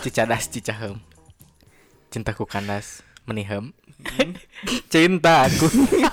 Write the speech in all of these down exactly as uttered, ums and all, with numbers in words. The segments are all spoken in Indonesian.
Cicadas cicahem. Cintaku kandas menihem. Cintaku.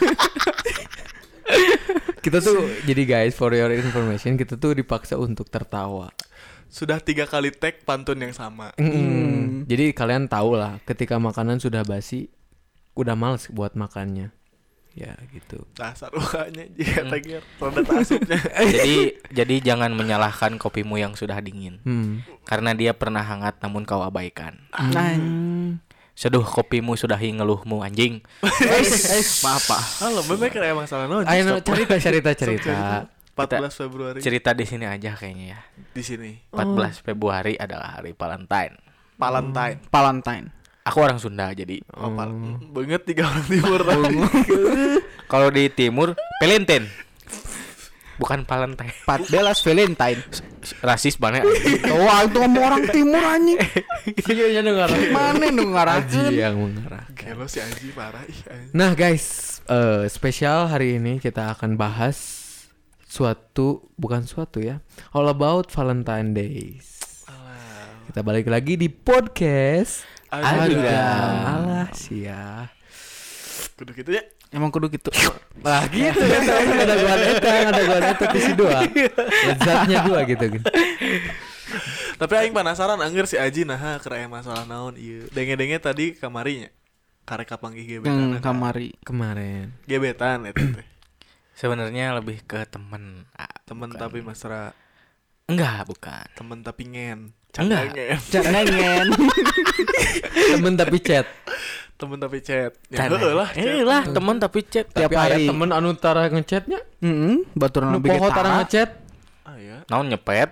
Kita tuh jadi guys, for your information, kita tuh dipaksa untuk tertawa. Sudah tiga kali tag pantun yang sama. Mm. Jadi kalian tahu lah, ketika makanan sudah basi, udah males buat makannya. Ya gitu. Dasar ukanya jika tagir rada asupnya. Jadi jadi jangan menyalahkan kopimu yang sudah dingin. Hmm. Karena dia pernah hangat namun kau abaikan. Nah, Seduh kopimu sudah ngeluhmu anjing. Maaf Pak. Halo, memang kayak masalah non. Ayo cerita cerita cerita. empat belas Februari. Cerita di sini aja kayaknya ya. Di sini. empat belas Februari adalah hari Valentine. Valentine. Valentine. Aku orang Sunda jadi. Oh, Val- banget tiga orang timur. Kalau di timur Valentine. Bukan Valentine. empat belas Valentine. Rasis banget. Oh, itu ngomong orang timur anjing. Iya dengar. Mana nu Aji ngarakeun? yang mengarah. Gelo si Aji parah ih. Aji. Nah guys, uh, spesial hari ini kita akan bahas suatu, bukan suatu ya, all about Valentine Days. Kita balik lagi di podcast Adugam. Alah sia. Kudu gitu ya. Emang kudu gitu. Lah gitu kan, ada gua eta, ada gua eta di dua. Lezatnya dua gitu gitu. Tapi aing penasaran angger si Aji nah keur masalah naon ieu. Denge-denge tadi kamarinya. Karek kapanggih gebetan. Yang kamari. Kemarin. Gebetan eta teh. Sebenarnya lebih ke temen. Ah, Temen bukan. tapi mesra. Enggak, bukan. Temen tapi ngen. Enggak. Ngen. Jangan. Temen tapi chat. Temen tapi chat. Ya Tanah. heueuh lah. Eh lah, temen tapi chat. Tiap Tapi aya hari. temen anu tara ngechatnya, Heeh, baturan nu poho tara ngechat. Ah ya. Naon nyepet.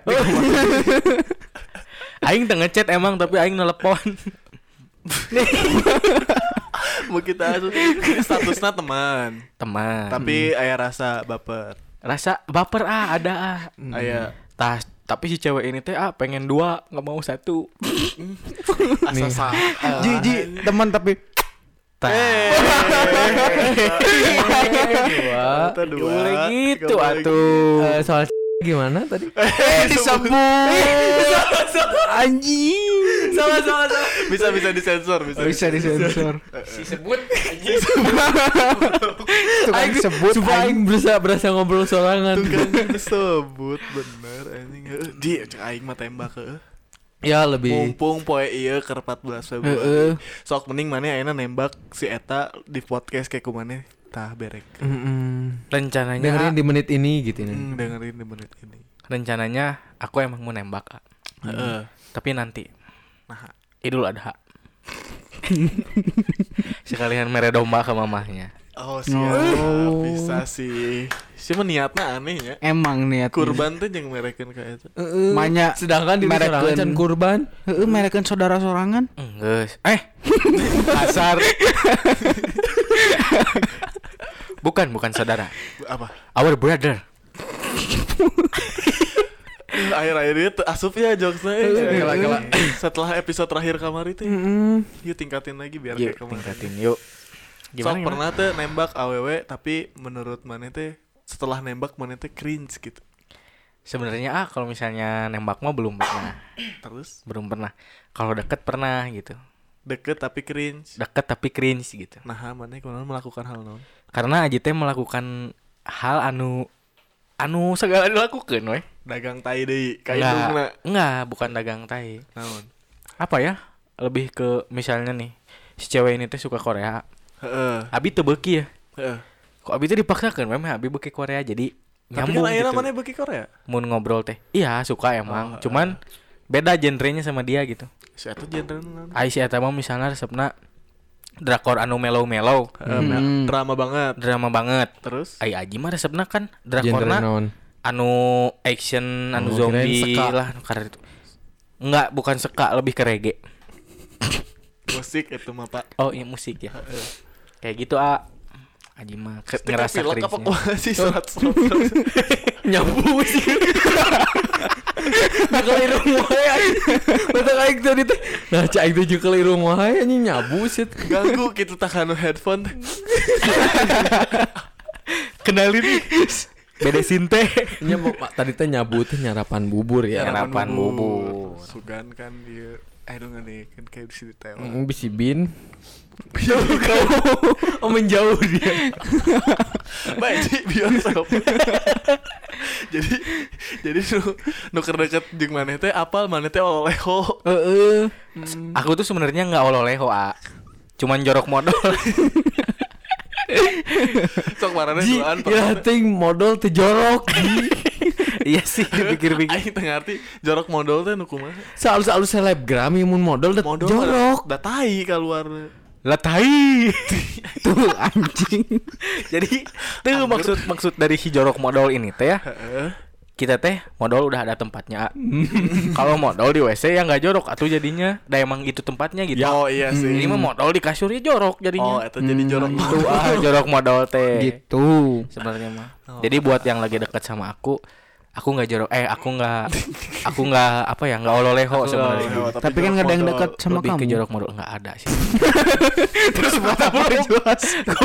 Aing teu ngechat emang tapi aing nelepon. Mau kita asup statusnya teman. Teman. Tapi aya rasa baper. Rasa baper ah ada ah. Aya Tas tapi si cewek ini teh ah pengen dua, nggak mau satu. asa sah. Ji ji teman tapi Tah. Dua. Kita dua. Boleh gitu Gak boleh atuh. Eh, soal gimana tadi? eh disebut anjing. Salah salah salah. Bisa bisa disensor, bisa. Bisa disensor. Si sebut Tukang sebut Supaya aing berasa berasa ngobrol sorangan. Tukang disebut bener anjing. Heueuh, Di cek aing mah tembak heueuh. Ya lebih. Mumpung poe ieu keur empat belas Februari. Heeh. Sok mending maneh ayeuna nembak si eta di podcast kayak kumaneh tah berek. Mm-mm. rencananya Dengerin di menit ini gitu nih. Hmm, dengerin di menit ini. rencananya aku emang mau nembak ah. Heeh. Tapi nanti Nah, Idul Adha. Sekalian mere domba ke mamahnya. oh siap. Oh. Bisa sih. Siapa niatna aneh ya. Emang niat Kurban teh jeung merekeun ka eta. Heeh. Manya Sedangkan di merekeun. sorangan can kurban. Heeh, merekeun saudara sorangan. Enggeus. Eh. Asar. Bukan, bukan saudara. Apa? Our brother. Akhir-akhir itu asup ya jokesnya eh. Gila-gila. Setelah episode terakhir kamari teh. Heeh. Yuk tingkatin lagi biar Yuk, kayak kemarin. tingkatin yuk. Sok Gimana, gimana? pernah teh nembak awewe tapi menurut maneh teh setelah nembak maneh teh cringe gitu. Sebenarnya ah kalau misalnya nembak mah belum pernah. Terus Belum pernah. Kalau deket pernah gitu. deket tapi cringe. Deket tapi cringe gitu. Nah, maneh kunaon melakukan hal naon? Karena Aji teh melakukan hal anu anu segala dilakukan weh. Dagang tai deui ka Enggak, indungna. enggak, bukan dagang tai. Naon? Apa ya? Lebih ke misalnya nih, si cewek ini teh suka Korea. Heeh. Abi teu beuki ya. Heeh. Kok Abi teh dipaksakeun memang Abi beuki Korea jadi Tapi kan nyambung ayeuna gitu. maneh beuki Korea. Mun ngobrol teh. Iya, suka emang. Oh, Cuman beda genrenya sama dia gitu. Si atuh genre naon? Ai si eta mah misalnya resepna drakor anu mellow-mellow, Heeh, mel- drama banget. drama banget. Terus Ai Aji mah resepna kan Genre drakorna naon? anu action, anu Oh, kirain zombie seka. lah anu karena itu. Enggak, bukan seka, lebih ke reggae. musik itu mah Pak. Oh, iya musik ya. Kayak gitu ah. Aji mah ke- Teka ngerasa pilek apa cringe-nya. kumaha sih surat surat. Nyabu sih. Nah kalau irung wae anjing. Betul aing tadi teh. Nah cai teh jeung kalau irung wae anjing nyabu sih. Ganggu gitu takanu headphone. Kenalin nih. Bedesin teh. Nya tadi teh nyabu teh nyarapan bubur ya. Nyarapan bubur. Sugan kan dia. Aduh nih kan kayak di sini teh. Mm, bisi bin. Oh menjauh dia. Baik di bioskop. Jadi jadi nu nu keur deket jeung maneh teh apal maneh teh oleho. Heeh. Aku tuh sebenarnya nggak ololeho, A. Cuman jorok modal. Sok marane Ji, duaan ya ting modal teh jorok. Ji. Iya sih, dipikir-pikir. Aing teu ngarti jorok modal teh nu kumaha. Salus-salus selebgram yang mun modal teh Modal jorok. da tai keluar. Lah tai. Tuh anjing. Jadi tuh maksud maksud dari si jorok modal ini teh ya. Heeh. Kita teh modal udah ada tempatnya. Kalau modal di W C ya nggak jorok atuh jadinya. Da emang itu tempatnya gitu. Oh iya sih. Ini mah modal di kasur ya jorok Oh, jadinya. itu jadi jorok. Itu ah jorok modal teh. Gitu. Sebenarnya mah. Oh. Jadi buat yang lagi dekat sama aku, aku nggak jorok. Eh aku nggak, aku nggak apa ya nggak ololeho sebenarnya. Oleho, Tapi kan nggak ada yang dekat sama Lebih ke kamu. jorok modal nggak ada sih. Terus buat apa jelas?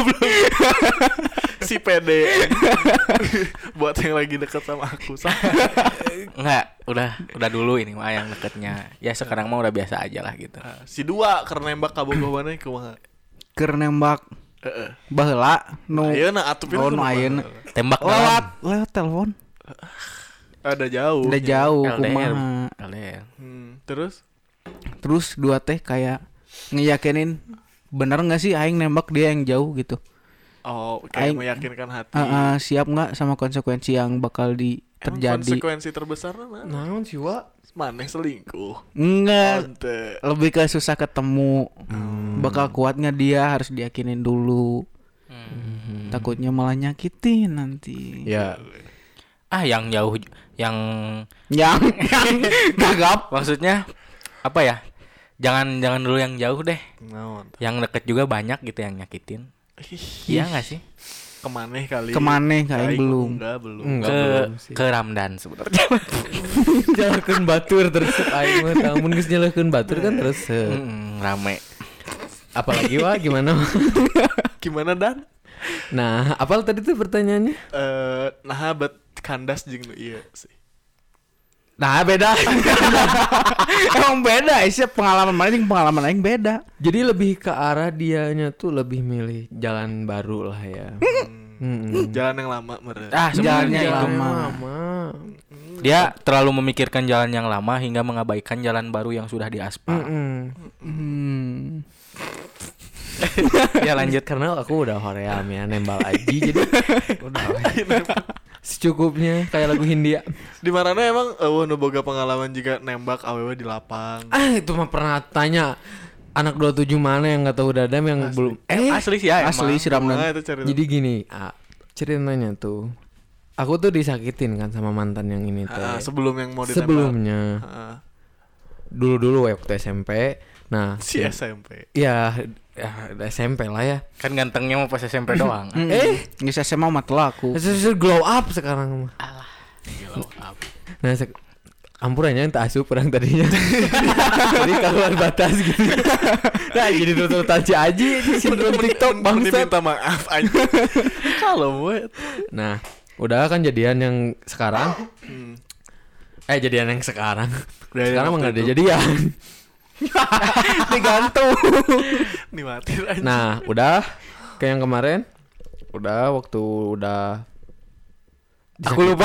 si pede. Buat yang lagi dekat sama aku. Nggak, udah udah dulu ini mah yang deketnya. Ya sekarang mah udah biasa aja lah gitu. Nah, si dua karena nembak kabogoh maneh kumaha? Keur nembak Heeh. baheula nu Ayeuna atuh oh, nu ayeuna. Tembak lewat dalam lewat telepon. Ada jauh. Udah jauh L D R. kumaha. L D R. Hmm, terus Terus dua teh kayak ngeyakinin bener nggak sih aing nembak dia yang jauh gitu. oh kayak Aing- meyakinkan hati. Ah, ah, siap nggak sama konsekuensi yang bakal di Emang terjadi? konsekuensi terbesar mana? Naon sih wa? Maneh selingkuh. Enggak, Ante. lebih ke susah ketemu. Bakal kuat nggak dia harus diyakinin dulu. Hmm. Takutnya malah nyakitin nanti. Ya. Ah yang jauh yang Yang yang gagap. maksudnya apa ya? Jangan jangan dulu yang jauh deh. Naon? Yang deket juga banyak gitu yang nyakitin. Iya nggak sih? Kemaneh kali. Kemaneh kayak Aing belum. Enggak, belum. Enggak Ke belum sih. ke Ramdan sebenarnya. Nyalakeun batur terus aing mah tah mun geus nyalakeun batur kan terus heuh. Mm, rame. Apalagi wa gimana? Wa? Gimana Dan? Nah, apal tadi tuh pertanyaannya? Eh, nah bet kandas jeung nu ieu sih. Nah, beda. Emang beda sih pengalaman mana jeung pengalaman aing beda. Jadi lebih ke arah dianya tuh lebih milih jalan baru lah ya. Mm-mm. Jalan yang lama meren. Ah Jalannya sebenarnya yang itu. lama. lama. Dia terlalu memikirkan jalan yang lama hingga mengabaikan jalan baru yang sudah diaspal. Mm-mm. Hmm. Ya lanjut. Karena aku udah hoream ya nembal aji jadi udah secukupnya kayak lagu Hindia. Di mana emang eueuh nu boga pengalaman jika nembak awewe di lapang. Ah, itu mah pernah tanya anak dua puluh tujuh mana yang nggak tahu dadam yang Asli. belum Eh asli sih ya Asli emang. si Ramdan. Nah, itu cerita. Jadi gini, ah, ceritanya tuh aku tuh disakitin kan sama mantan yang ini teh. Ah, sebelum yang mau ditembak. Sebelumnya Ah, dulu-dulu waktu S M P. Nah, si S M P. ya, ya S M P lah ya. Kan gantengnya mau pas S M P doang. Hmm. Eh, Geus S M A mah laku. Sesuatu glow up sekarang mah. Gila, apa. Nah, sek- ampurannya entah asup orang tadinya. Jadi keluar batas gitu. Nah, jadi tututan si Aji di sindrom TikTok bangsat. Minta maaf aja. Kalau we. Nah, udah kan jadian yang sekarang. Hmm. Eh, jadian yang sekarang. Udah yang Sekarang mah waktu nggak ada itu. jadian. Digantung. Nih mati aja. Nah, udah kayak yang kemarin. Udah waktu udah Aku lupa.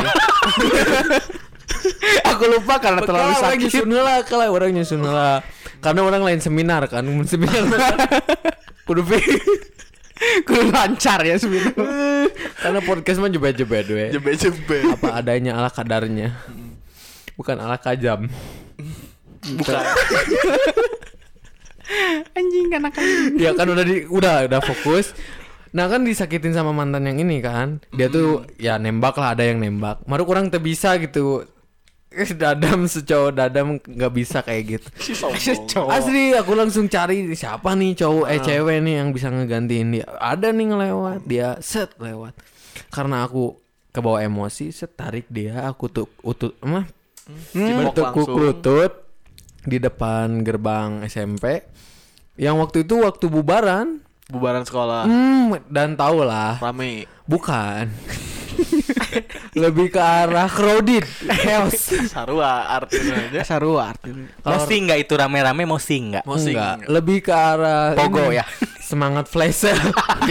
Aku lupa karena terlalu Orang sakit. nyusun lah, kalau orang nyusun lah. Karena orang lain seminar kan, mun seminar kudu pi- Kudu lancar ya sebenarnya. karena podcast mah jebet-jebet we. Jebe-jebe. Apa adanya ala kadarnya. Bukan ala kajam. Bukan. Anjing anak anjing. Ya kan udah di udah udah fokus. Nah kan disakitin sama mantan yang ini kan. Dia tuh ya nembak lah, ada yang nembak. Maru kurang teu bisa gitu. Eh, Dadam secowok dadam nggak bisa kayak gitu. Si sombong. Asli aku langsung cari siapa nih cowok eh cewek nih yang bisa ngegantiin dia. Ada nih ngelewat, dia set lewat. Karena aku kebawa emosi, set tarik dia, aku tuh utut emah Dibelok bertekuk langsung. lutut di depan gerbang S M P. Yang waktu itu waktu bubaran. Bubaran sekolah. Hmm, dan tau lah, Rame. bukan. Lebih ke arah crowded, chaos. Sarua artinya aja. Sarua artinya. Mosi enggak itu rame-rame mosi enggak? Mosing. Enggak, lebih ke arah Pogo ini, ya. Semangat flash sale.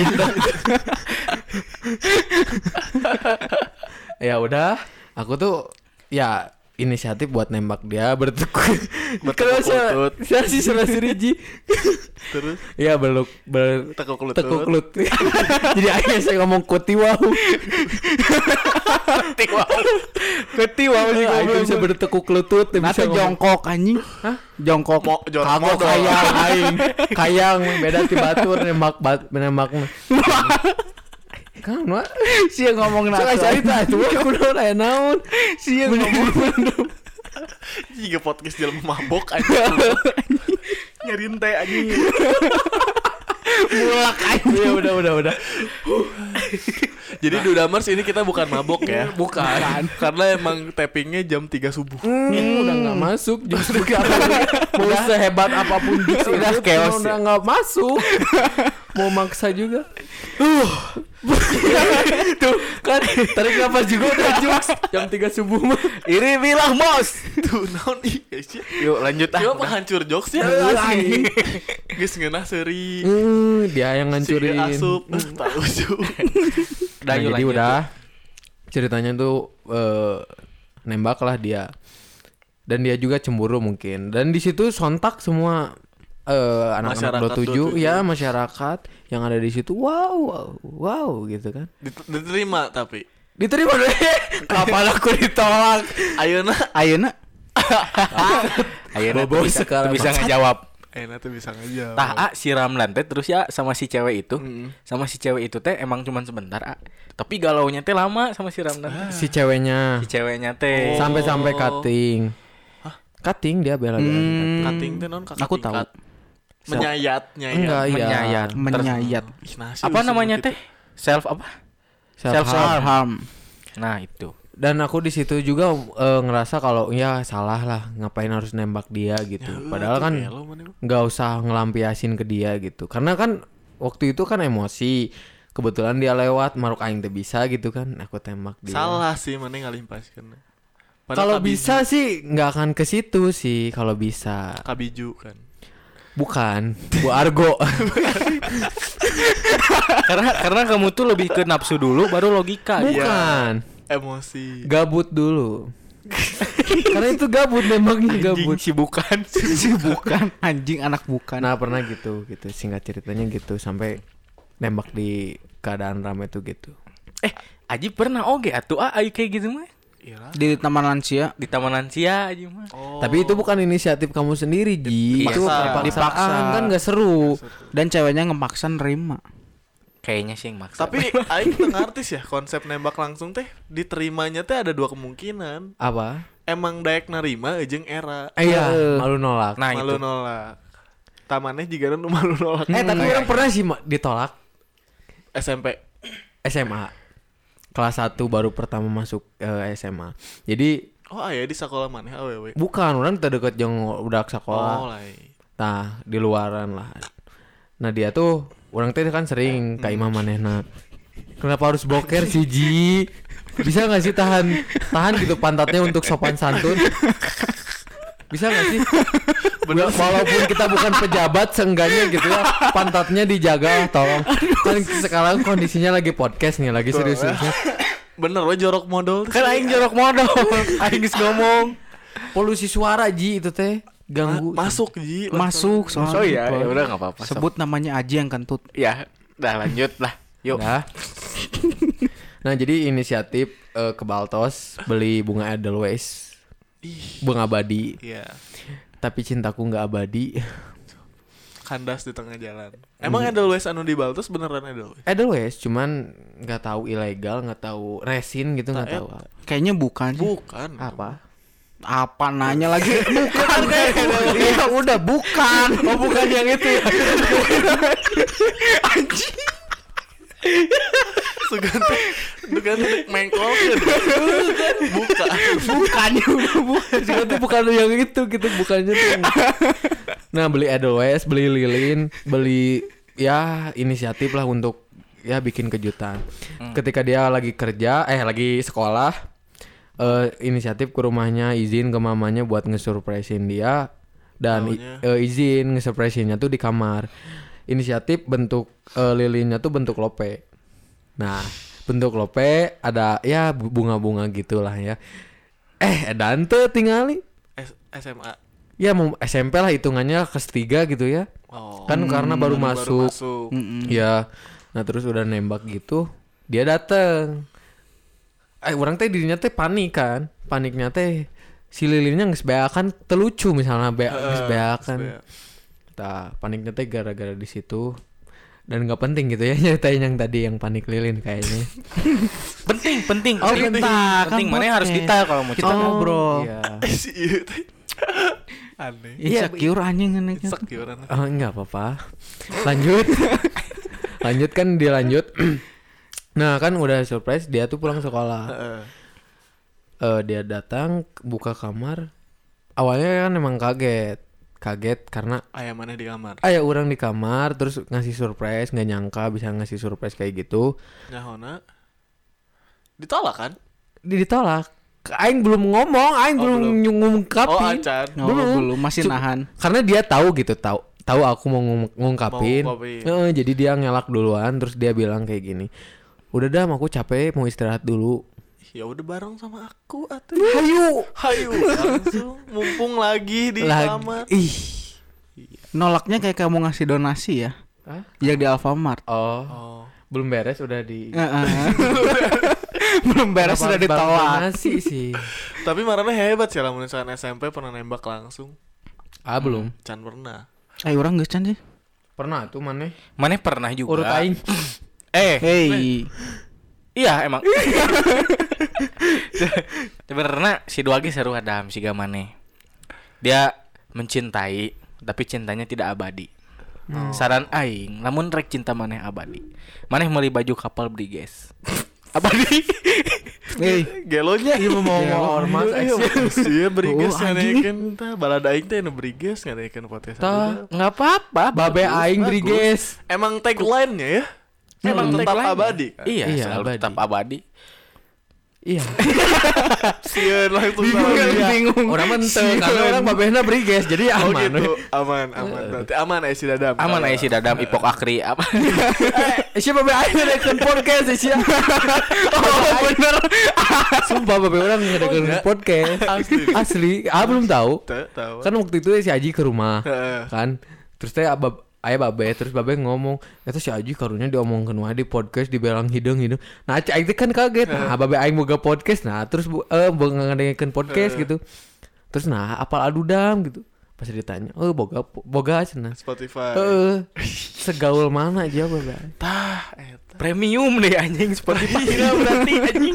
Ya udah, aku tuh ya inisiatif buat nembak dia bertekuk. Bertekuk lutut. Saya sih salah siriji. Terus Ya beluk ber tekuk lutut. tekuk lutut. Jadi akhirnya saya ngomong kuti wow. Kuti wow sih Iya, goblok bisa bertekuk lutut, bisa Nanti ngomong. jongkok anjing. Hah? Jongkok. Mo jor Kagok modal. kayang aing. Kayang beda ti batur nembak bat nembak mah. Kan mah Sia ngomong saya nato. cerita tuh aku udah aya naon. Sia ngomong. Jika podcast jalan mabok aja. Nyariin teh anjing. Mulak aja. Ya udah udah udah. Jadi Dudamers ini kita bukan mabok ya. Bukan. Karena emang tappingnya jam tiga subuh. Hmm, udah nggak masuk justru karena mau sehebat apapun justru Udah chaos udah nggak masuk. Mau maksa juga. Tuh kan tarik nafas juga udah jokes jam tiga subuh mah. Iri bilang bos. Tuh naon ih guys ya. Yuk lanjut ah. Cuma penghancur jokes ya. Asli. Guys ngeunah seuri. Hmm, dia yang Si ngancurin. asup. Tak lucu. Udah, Nah, yuk, jadi lanjut, udah ceritanya tuh eh, nembak lah dia dan dia juga cemburu mungkin dan di situ sontak semua eh, anak-anak Masyarakat dua puluh tujuh dua puluh tujuh. ya masyarakat yang ada di situ wow wow wow gitu kan Dit- Diterima tapi. diterima deh kapan aku ditolak Ayeuna Ayeuna Akhirnya Bobo tuh bisa, sekarang tuh bisa ngejawab. Ayeuna tuh bisa ngajak. Tah A si Ramlan teh terus ya sama si cewek itu. Mm. Sama si cewek itu teh emang cuman sebentar A. Tapi galaunya teh lama sama si Ramlan. si ceweknya Si ceweknya teh. Oh. sampai-sampai cutting cutting dia bela bela Hmm. Cutting teh non kakak Aku tahu. tingkat. Menyayat, nyayat. enggak iya Menyayat. Menyayat. Ih, nasi Apa lu namanya sebut teh? Self apa? self Self harm. harm. Harm. Nah, itu. Dan aku di situ juga eh, ngerasa kalau ya salah lah ngapain harus nembak dia gitu. Ya, Padahal tuh kan gelo mana lu. nggak usah ngelampiasin ke dia gitu. Karena kan waktu itu kan emosi. Kebetulan dia lewat maruk aing teh bisa gitu kan. Aku tembak dia. Salah sih mana ngalimpaskeun. Kalau bisa sih nggak akan ke situ sih kalau bisa. kabiju kan. Bukan, Bu Argo. karena karena kamu tuh lebih ke nafsu dulu baru logika. Bukan. Emosi. Gabut dulu. Karena itu gabut nembaknya gabut. Si bukan. Si bukan anjing anak bukan. Nah pernah gitu gitu singkat ceritanya gitu sampai nembak di keadaan ramai tuh gitu. Eh, Aji pernah oge atuh ah ayo kayak gitu mah. Iyalah. Di taman lansia. Di taman lansia aja mah. Oh. Tapi itu bukan inisiatif kamu sendiri Ji. Dipaksa. Itu paksaan Dipaksa. kan gak seru. Dan ceweknya ngemaksa nerima. Kayaknya sih yang maksa. Tapi aing teu ngartis ya konsep nembak langsung teh diterimanya teh ada dua kemungkinan. Apa? Emang daek narima jeung era. Eh, iya, malu nolak. Nah, malu itu. nolak. Tamannya juga nu malu nolak. Eh tapi orang pernah sih Ma, ditolak S M P. S M A. Kelas satu baru pertama masuk eh, S M A. Jadi Oh aya di sekolah maneh awewe. bukan orang terdeket yang udah sekolah. Oh lai. Nah, di luaran lah. Nah, dia tuh orang teh kan sering ka imam manehna. Kenapa harus boker sih Ji? Bisa gak sih tahan tahan gitu pantatnya untuk sopan santun? Bisa gak sih? Bener, walaupun kita bukan pejabat seenggaknya gitu ya, pantatnya dijaga tolong. Kan sekarang kondisinya lagi podcast nih, lagi serius-seriusnya. Bener we jorok modal. Kan aing jorok modal. Aing geus ngomong. Polusi suara Ji itu teh ganggu. Masuk Ji. Masuk soalnya. Oh iya, ya udah enggak apa-apa. Sebut namanya Aji yang kentut. Ya, udah lanjut lah. Yuk. Nah. Nah, jadi inisiatif eh, ke Baltos beli bunga Edelweiss. Ih. Bunga abadi. Iya. Tapi cintaku nggak abadi. Kandas di tengah jalan. Emang Edelweiss anu di Baltus beneran Edelweiss? Edelweiss cuman nggak tahu ilegal, nggak tahu resin gitu, nggak Nah, tahu Kayaknya bukan sih. Bukan. apa. Apa nanya lagi? Bukan. Iya udah bukan. Oh bukan yang itu ya. Sugante. Sugante mengkol. Bukan. Bukannya udah bukan. Itu bukan yang itu gitu, bukannya tuh. Nah beli Edelweiss, beli lilin, beli ya inisiatif lah untuk ya bikin kejutan. Hmm. Ketika dia lagi kerja, eh lagi sekolah, uh, inisiatif ke rumahnya, izin ke mamanya buat ngesurprisein dia dan i- uh, izin ngesurprisein-nya tuh di kamar. Inisiatif bentuk uh, lilinnya tuh bentuk lope. Nah, bentuk lope ada ya bunga-bunga gitulah ya. Eh, dan tuh tingali S- SMA. Ya mau S M P lah hitungannya kelas tiga gitu ya. Oh. Kan karena baru baru masuk. masuk. Ya. Nah, terus udah nembak gitu, dia dateng. Eh, orang teh dirinya teh panik kan. Paniknya teh si lilinnya geus beakan telucu misalnya be geus beakan. Tah, paniknya teh gara-gara di situ. Dan nggak penting gitu ya nyatain yang tadi yang panik lilin kayaknya. Penting, penting. Oh, penting. kita Penting, kan mana harus podcast. detail kalau mau Kita cerita. ngobrol. Iya. Si ieu teh. Aneh. Insecure anjing aneh. Insecure aneh. Oh, enggak apa-apa. Lanjut. Lanjut kan dia lanjut. Nah, kan udah surprise dia tuh pulang sekolah. Heeh. Eh dia datang buka kamar. Awalnya kan emang kaget. Kaget karena Aya mana di kamar? ayah orang di kamar terus ngasih surprise, nggak nyangka bisa ngasih surprise kayak gitu. Nyahona. Ditolak kan? Ditolak. Aing belum ngomong, Aing Oh, belum belum. ngungkapin. Oh, acan. Oh, Belum. belum masih Cu- nahan. Karena dia tahu gitu, tahu tahu aku mau ngung- ngungkapin. Mau ngungkapin. Heeh, jadi dia ngelak duluan terus dia bilang kayak gini. Udah dah, aku capek mau istirahat dulu. Ya udah bareng sama aku atuh. Hayu. Hayu langsung mumpung lagi di Lagi. kamar. Ih. Nolaknya kayak kamu ngasih donasi ya. Hah? Yang di Alfamart. Oh, Oh. belum beres udah di Heeh. Belum beres sudah Baru- baru ditolak. donasi sih. Tapi marahnya hebat sih lah misalkan S M P pernah nembak langsung. Ah, belum. Can pernah. Eh orang geus can sih. Pernah tuh mana? Mana pernah juga. Urut aing. Eh, Hey. iya emang. Sebenarnya si Duagi seru adam si Gamane. Dia mencintai tapi cintanya tidak abadi. Saran aing, lamun rek cinta maneh abadi. Maneh meuli baju kapal Briges. Abadi. Hei, Gelonya ieu mau mau ormas Iya, action. iya Briges Oh, anjing. nganekeun tah balada aing teh nu Briges nganekeun podcast. Tah, Enggak apa-apa. babe bagus, aing bagus. Briges. Emang tagline-nya ya. Emang Hmm. tetap Tagline-nya. abadi kan. Iya, Iya, selalu abadi. tetap abadi. Iya. Sieun langsung Bingung sama kan, dia. bingung. Orang menteu karena orang babehna Briges jadi Oh aman. gitu, aman, aman. Berarti aman aya si Dadam. Aman aya si Dadam Ipok Akri apa. Eh, siapa babe aing ngedekeun podcast sih. Oh, bener. Sumpah babe orang ngedekeun enggak? podcast. Asli. Asli, ah belum tahu. Tuh, tahu. Kan waktu itu si Aji ke rumah. Heeh. Kan terus teh abab ayah babe terus babe ngomong eta si Aji karunya diomongkeun wae di podcast dibelang hidung-hidung. Nah cai aing teh kan kaget. Nah babe aing boga podcast. Nah terus bu- eh boga ngadengekeun podcast gitu. Terus nah apal adudam gitu. Pas ditanya, "Oh boga boga cenah." Spotify. Heeh. Segaul mana aja babe. Tah, eta. Premium deh anjing Spotify Iya, berarti anjing.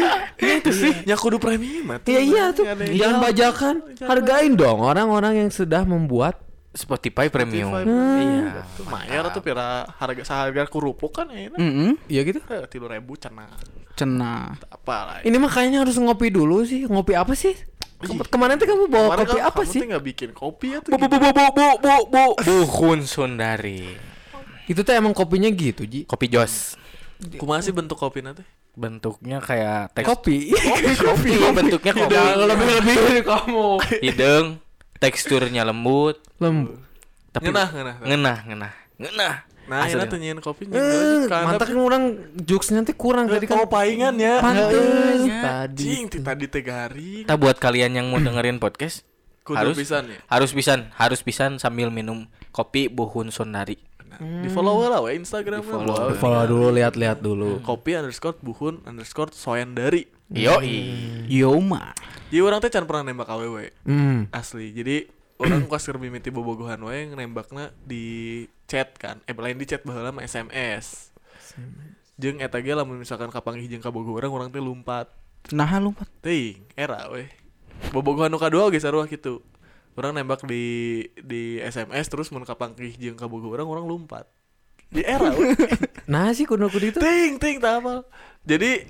Itu sih, nya kudu premium atuh. Iya iya tuh. Ada yang- Jangan bajakan. Hargain dong orang-orang yang sudah membuat. Spotify Premium. Spotify. Iya. Tuh mayar tuh pira harga seharga kerupuk kan enak. Heeh. Iya gitu. Eh, tilu ribu cenah. Cenah. Apa lah. Ini mah kayaknya harus ngopi dulu sih. Ngopi apa sih? Ke- kemana tuh kamu bawa Kemarin kopi kan apa kamu sih? tuh nggak bikin kopi ya tuh. Bu bu bu bu bu bu bu bu Buhun Sundari. Itu tuh emang kopinya gitu, Ji. Kopi Jos. Kumaha sih bentuk kopi nanti? Bentuknya kayak teks Kopi. kopi bentuknya kopi. Jangan lebih-lebih dari kamu. Hidung, teksturnya lembut, Lembut. tapi Ngenah, ngenah. ngenah, ngenah, ngenah. Nah, Asli. enak tuh nyiin kopi Eh, mantap kan orang jokesnya tuh kurang tadi kan. Kau paingan ya. Pantes Ya, tadi. Cing, ti tadi teh garing. Kita buat kalian yang mau dengerin podcast Kudu harus pisan ya. harus pisan, harus pisan sambil minum kopi Buhun Sundari. Nah, di follow lah we Instagram Di-follow. Follow dulu, lihat-lihat dulu. Kopi underscore buhun underscore soyandari. Yoi. Yoma. Jadi orang teh can pernah nembak awewe. Hmm. Asli. Jadi orang pas keur mimiti bobogohan wae nembakna di chat kan. Eh lain di chat baheula mah S M S. Jeung eta ge lamun misalkan kapanggih jeung ka bogoh urang urang teh lumpat. Nah lompat. Teuing era we. Bobogohan nu kadua ge sarua kitu. Urang nembak di di S M S terus mun kapanggih jeung ka bogoh urang urang lumpat. Di era we. Nah sih kudu kudu itu. ting ting tah apal. Jadi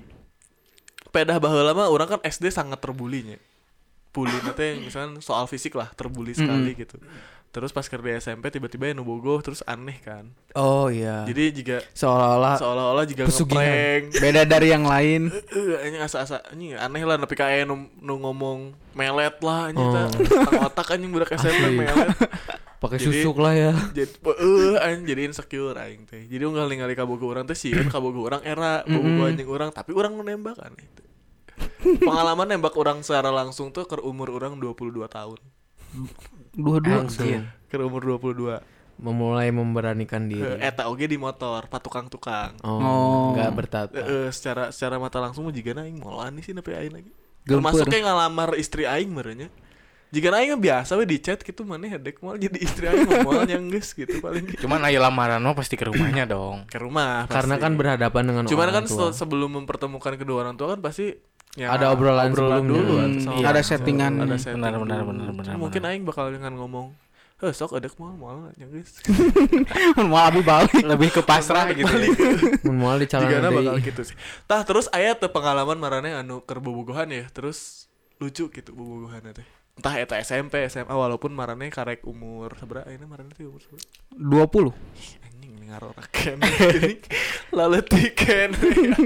pedah baheula mah urang kan S D sangat terbulinya. Bully teh misalkan soal fisik lah terbuli sekali gitu. Terus pas keur di S M P tiba-tiba anu bogoh terus aneh kan. Oh iya. Jadi juga seolah-olah seolah-olah juga pesugihan. ngeprank. Beda dari yang lain. Heeh, anjing asa-asa anjing aneh lah nepi ka aya nu, nu ngomong melet lah anjing Oh. tah. Tang otak anjing budak S M P Asli. melet. pakai Jadi- susuk lah ya. Jadi heeh anjing jadi insecure aing teh. Jadi unggal ningali ka bogoh urang teh sieun ka bogoh urang era, bogoh anjing urang tapi urang nu nembak aneh teh. Pengalaman nembak orang secara langsung tuh ke umur orang dua puluh dua tahun. Dua-dua. Langsung Ke umur dua puluh dua. memulai memberanikan diri. Eh, eta oge di motor, patukang-tukang. Oh, Oh. nggak bertata. Eh, secara secara mata langsung jigana aing moal nih sih nepi aing lagi. Gempeur. Termasuk kayak ngalamar istri aing merenya. Jika aing mah biasa we di chat gitu maneh hedek moal jadi istri aing moal yang geus gitu paling Cuman ayo lamaran mah pasti ke rumahnya dong. ke rumah. Karena pasti. kan berhadapan dengan Cuman orang kan tua. se- sebelum mempertemukan kedua orang tua kan pasti ya, Ada obrolan sebelumnya. dulu Hmm, atau sama- iya. Ada settingan. ada setting Benar, benar, dulu. benar, benar, Mungkin benar. aing bakal dengan ngomong heh sok edek moal moal yang geus. Mau abi balik. Lebih ke pasrah gitu. Ya. Mun moal di calon Jigana deui. bakal gitu sih. Tah terus aya teu pengalaman marane anu keur bobogohan ya, terus lucu gitu bobogohan teh. Entah eta S M P, S M A walaupun marane karek umur sabaraha ayeuna marane teh umur sabaraha? dua puluh. Anjing ngarorakeun gini. Laletikeun.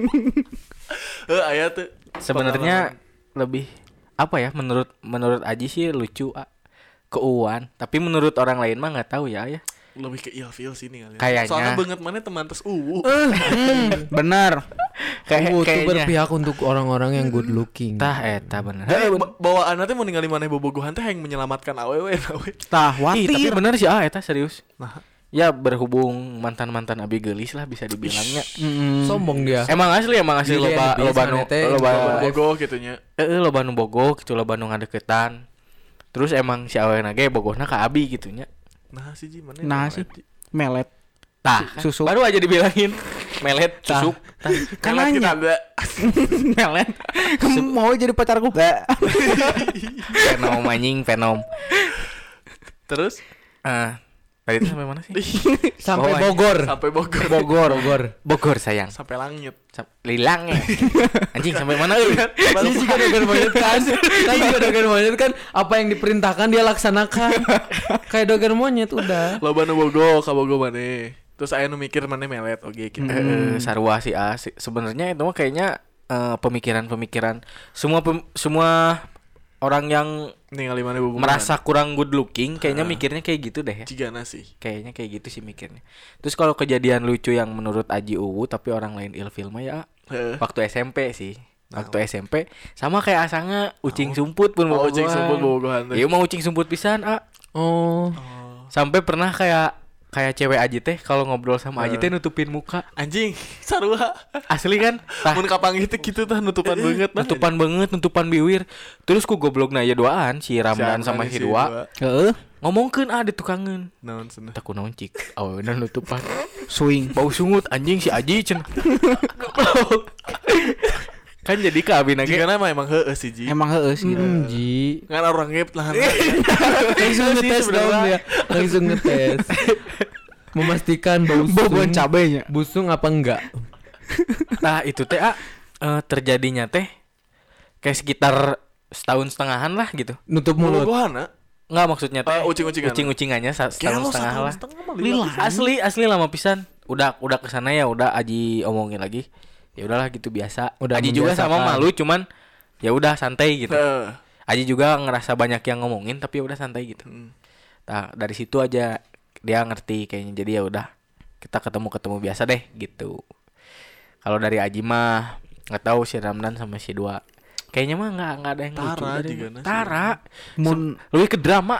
Heuh aya teh. Sebenarnya lebih apa ya menurut menurut Aji sih lucu ah, keuuan, tapi menurut orang lain mah nggak tahu ya ya. lebih ke ilfeel sini kali. Kayaknya. Soalnya banget mana teman terus uh. Benar. Kayak Oh, itu kayaknya. berpihak untuk orang-orang yang good looking. Tah eta bener. Eh, ba- bawaan teh mau ningali maneh bobogohan teh yang menyelamatkan awewe nawe. Tah, Ih, tapi watir. bener sih ah eta serius. Nah, Ya berhubung mantan-mantan abi geulis lah bisa dibilangnya. Mm-mm. Sombong dia. Emang asli emang asli Jadi loba yang loba nu biasa teh, loba bobogoh gitunya. eh loba nu bogoh gitu loba nu ngadeketan. Terus emang si awena ge bogohna ka abi gitunya. Nah, sih Ji maneh. Nah, sih. Melet. Tah, kan Susuk. baru aja dibilangin melet Tah. susuk. Tah. Kan Karena kita nanya. ada Melet. Kamu mau jadi pacarku? Enggak. Fenom anjing fenom. terus Ah, tadi tuh sampai mana sih? Sampai Oh, Bogor. sampai Bogor. Bogor, Bogor. Bogor sayang. Sampai langit. Sam- Lilang ya. Anjing sampai mana euy? Ini juga dogan monyet kan. Tadi juga dogan monyet kan. Apa yang diperintahkan dia laksanakan. Kayak dogan monyet udah. Loba nu bogoh ka bogoh maneh. Terus aya nu mikir maneh melet oge gitu. Eh, sarua sih ah. Si- Sebenarnya itu mah kayaknya eh, pemikiran-pemikiran semua pem- semua orang yang Ningali maneh bobogohan. merasa kurang good looking kayaknya mikirnya kayak gitu deh ya. Cigana sih. Kayaknya kayak gitu sih mikirnya. Terus kalau kejadian lucu yang menurut Aji Uwu tapi orang lain ilfil mah ya Heeh. waktu S M P sih. Waktu S M P sama kayak asanga ucing sumput pun Oh, bobogohan. ucing sumput bobogohan teh. Iya mau ucing sumput pisan ah. Oh. Sampai pernah kayak kayak cewek Aji teh kalau ngobrol sama Aji teh nutupin muka. Anjing, sarua. Asli kan? Tah, Mun kapanggih teh kitu tah nutupan banget nah. nutupan banget, nutupan biwir. Terus ku goblokna ya doaan si Ramdan Si sama Ramdan si Dua Heeh. ngomongkeun ah di tukangeun. Naon cenah. Tak ku naon cik. Aweuna nutupan. Swing. Bau sungut anjing si Aji cenah. Kan jadi ka abi nage. Jigana mah emang heueuh sih Ji. Emang heeh sih. Hmm, Ji. Ngan orang ngep lah. Langsung ngetes dong dia. Langsung ngetes. Memastikan busung. Bobon cabenya. Busung apa enggak? Nah, itu teh ah eh, terjadinya teh kayak sekitar setahun setengahan lah gitu. Nutup mulut. Bobogohan Enggak maksudnya teh Eh, ucing-ucingan. ucing-ucingannya sa- setahun setengah lah. Lila. Asli asli lama pisan. Udah udah kesana ya udah Aji omongin lagi. Ya udahlah gitu biasa. Udah Aji juga sama membiasakan. malu cuman ya udah santai gitu. Heeh. Aji juga ngerasa banyak yang ngomongin tapi ya udah santai gitu. Hmm. Nah, dari situ aja dia ngerti kayaknya. Jadi ya udah kita ketemu-ketemu biasa deh gitu. Kalau dari Aji mah nggak tahu si Ramdan sama si Dua. Kayaknya mah nggak nggak ada yang lucu. Tara dari- juga na sih. Tara. Mun Sem- lebih ke drama.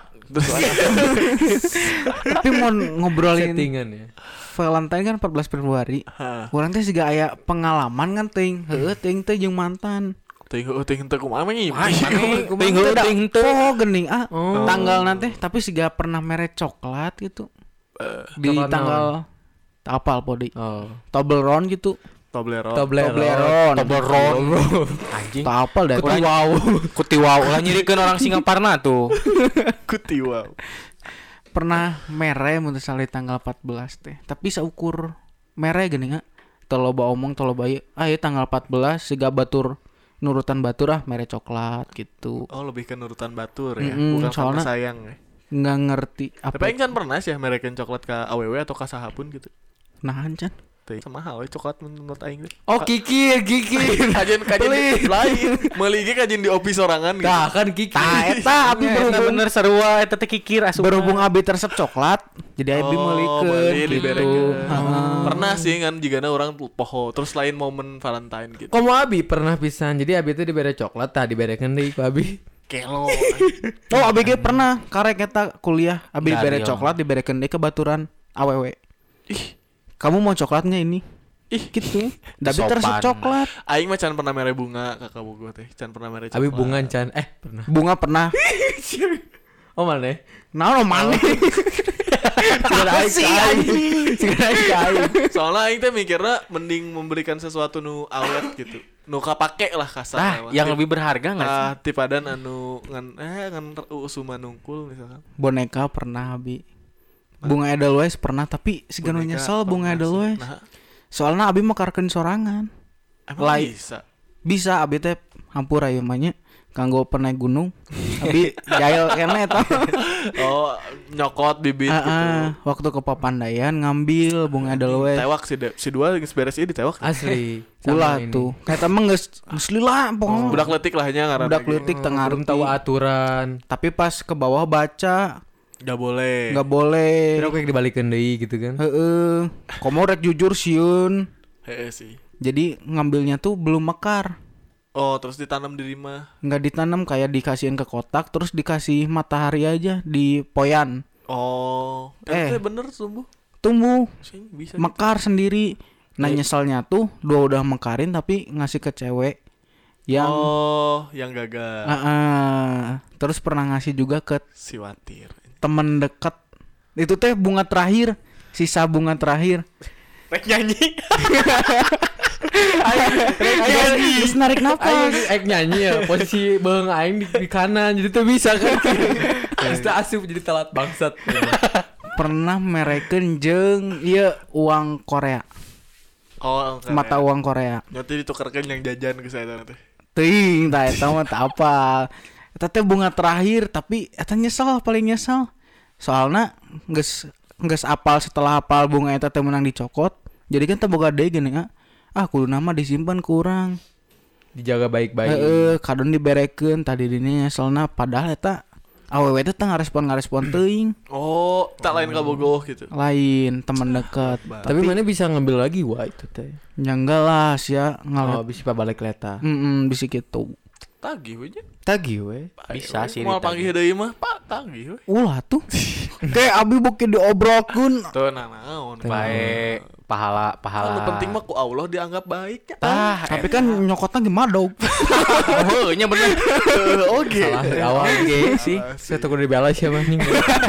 tapi mau ngobrolin Settingan ya. Valentine kan empat belas Februari. Hah. Urang teh siga aya pengalaman kan teuing. Heueuh teuing teh jeung mantan. Ting heueuh ting teu kumaha mah nya. Wah, Ting ting heueuh, ting teu. Oh geuning ah. Oh. Tanggal nanti tapi siga pernah mere coklat gitu. Di Coklat tanggal apal podi. Oh. Toblerone gitu. Toblerone. Toblerone. Toblerone. Anjing. Tak apal dah. Kuti wow. Kuti wow. Lah nyirikeun orang Singaparna tuh. Kuti wow. Pernah mere mun teu salah di tanggal empat belas teh. Tapi saukur mere geuning ah. Teu loba omong teu loba ieu. Ah ieu tanggal empat belas siga batur nurutan batur ah mere coklat gitu. Oh, lebih ke nurutan batur ya. Mm-mm, Bukan karena soalnya- sayang ya. nggak ngerti Tapi apa. aing can pernah sih merekeun coklat ka awewe atau ka sahapun gitu. Nahan can. Teh sama hal we coklat menurut aing teh. Oh kikir, kikir. Kajian kajian di- lain. Meuli ge kajian di office sorangan gitu. Nah kan kikir. Tah eta abi Eta berhubung bener sarua eta teh kikir asup. berhubung abi resep coklat, jadi abi Oh, meulikeun meuli gitu. diberekeun. Heeh. Pernah sih kan jigana orang poho terus lain momen Valentine gitu. Komo Abi pernah pisan. Jadi Abi itu dibere coklat tah diberekeun deui ku Abi. Kelo. Oh, abi ge pernah karek eta kuliah, abi Nggak, dibere Rio. coklat diberekeun deui ke baturan awewe. Ih, Kamu mau coklatnya ini? ih Gitu. Tapi Sopan. resep coklat. aing mah can pernah mere bunga kakak bogo teh. Can pernah mere coklat. Abi bunga can eh pernah. Bunga pernah. Oh mana? Nah, lo mana? Segera aing ka aing. Segera aing ka aing. Soalnya aing teh mikirnya mending memberikan sesuatu nu awet gitu. Nu kapake lah kasar. Nah, mah. yang Tip- lebih berharga enggak sih? Ah, tipadan anu ngan eh ngan usuma nungkul misalkan. Boneka pernah abi. Bunga Edelweiss pernah, tapi segala Boneka nyesel bunga pernah sih. Edelweiss. Nah, Soalnya abi makarkeun sorangan. emang Lai. bisa. Bisa abi teh hampura ieu mah nya kanggo pernah gunung. Abi jail kene eta. Oh, nyokot bibit Heeh, gitu. waktu ke Papandayan ngambil bunga Edelweiss. Tewak si de, si dua geus beres ieu ditewak. Asli. Ulah Sama ini. tuh. Kayak mah geus geus lila pokoknya. Budak letik lah nya ngaranna. Budak gitu. leutik tengah Belum tahu aturan. Tapi pas ke bawah baca Gak boleh. nggak boleh. Kira kayak dibalikeun deui gitu kan. Heeh. Komo rek jujur sieun. Heeh sih. Jadi ngambilnya tuh belum mekar. Oh, terus ditanam di rumah. Nggak ditanam, kayak dikasihin ke kotak terus dikasih matahari aja di poyan. Oh, Eh. eh bener tumbuh. Tumbuh Sing bisa. mekar sendiri. Nah nyeselnya tuh dua udah mekarin tapi ngasih ke cewek yang Oh, yang gagal. Ah, ah. Terus pernah ngasih juga ke Si Watir. temen deket. Itu teh bunga terakhir, sisa bunga terakhir. Rek nyanyi. Terus narik Aing nafas. aing nyanyi ya posisi beung aing di, di kanan jadi tuh bisa kan. Terus teu asup jadi telat bangsat. Pernah merekeun jeung ieu uang Korea. Oh, oke. Mata uang Korea. Nyoti ditukerkeun yang jajan ke saya teh. Teuing tah eta mah teu apal. Eta teh bunga terakhir tapi eta nyesel paling nyesel. Soalna geus geus apal setelah apal bunga eta teh menang dicokot. Jadi kan teu boga deui gini ah. Ah kudu nama disimpan kurang. Dijaga baik-baik. Heeh, kadon diberekeun tadi dini nyeselna padahal eta awewe teh teu ngarespon-ngarespon teuing. Oh, tak lain kabogoh gitu. Lain teman dekat. Tapi mana bisa ngambil lagi wah itu teh. Ya enggak lah sia Oh, ngalet. bisa balik leta. Heeh, bisa gitu. Tagih we nya. Tagih we. Bisa sih Mau ditagih. panggil deui mah, Pak, tagih we. Ulah tuh. Kayak abi bukit diobrolkeun. Tuh nah naon. Baik, pahala pahala. Anu penting mah ku Allah dianggap baik ya. Ah, Tapi kan nyokotnya gimana dong? oh, nya bener. Oke. Salah dari awal ge sih. Saya takut dibalas ya anjing.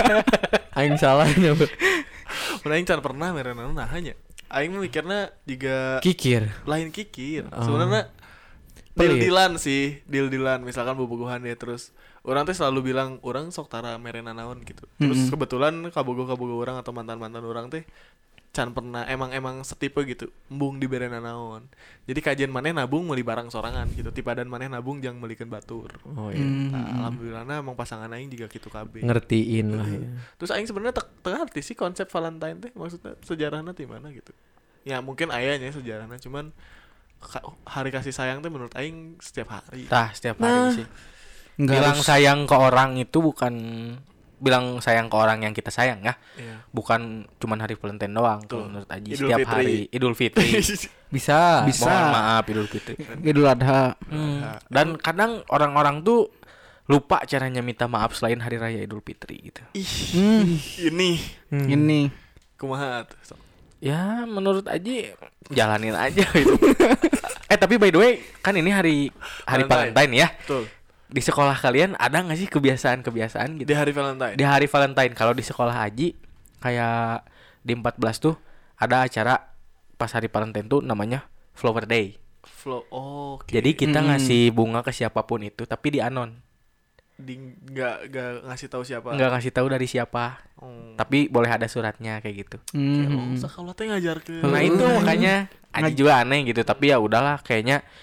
Aing salahnya. Mun aing can pernah merenana nahanya. Aing mah mikirna juga Kikir. lain kikir. Oh. Sebenarnya Pelit. deal-dealan sih, deal-dealan misalkan bobogohan ya terus orang teh selalu bilang orang sok tara merena naon gitu. Terus Mm-mm. kebetulan kabogo-kabogo orang atau mantan-mantan orang teh can pernah emang emang setipe gitu embung di berena naon. Jadi kajian maneh nabung meuli barang sorangan gitu. Tipadan maneh nabung jang meulikeun batur. Oh iya. Hmm. Nah, alhamdulillahna emang pasangan aing juga gitu kabeh. Ngertiin lah ya. Terus aing sebenarnya teu teu ngerti sih konsep Valentine teh maksudnya sejarahnya di mana gitu. Ya mungkin ayahnya sejarahnya cuman ka- hari kasih sayang teh menurut aing setiap hari. Tah, setiap Nah, hari sih. Enggak Bilang harus- sayang ke orang itu bukan bilang sayang ke orang yang kita sayang ya. Iya. Bukan cuman hari Valentine doang Tuh. kalau menurut Aji. Idul Setiap Fitri. hari Idul Fitri. Bisa. Bisa. Mohon maaf Idul Fitri. Idul Adha. Hmm. Dan kadang orang-orang tuh lupa caranya minta maaf selain hari raya Idul Fitri gitu. Ih, Hmm, ini Hmm. ini kumaha tuh. Sok. Ya menurut Aji jalanin aja gitu. eh tapi by the way kan ini hari hari Valentine. Valentine, ya. Betul. Di sekolah kalian ada nggak sih kebiasaan-kebiasaan gitu? Di hari Valentine. Di hari Valentine kalau di sekolah Aji kayak di empat belas tuh ada acara pas hari Valentine tuh namanya Flower Day. Flow. Oh, oke. Jadi kita Mm-mm. ngasih bunga ke siapapun itu tapi di anon. di nggak nggak ngasih tahu siapa. Nggak ngasih tahu dari siapa. Oh. Tapi boleh ada suratnya kayak gitu. Oh, hmm. sekolah teh ngajar ke. Nah itu makanya Aji juga aneh gitu. Tapi ya udahlah kayaknya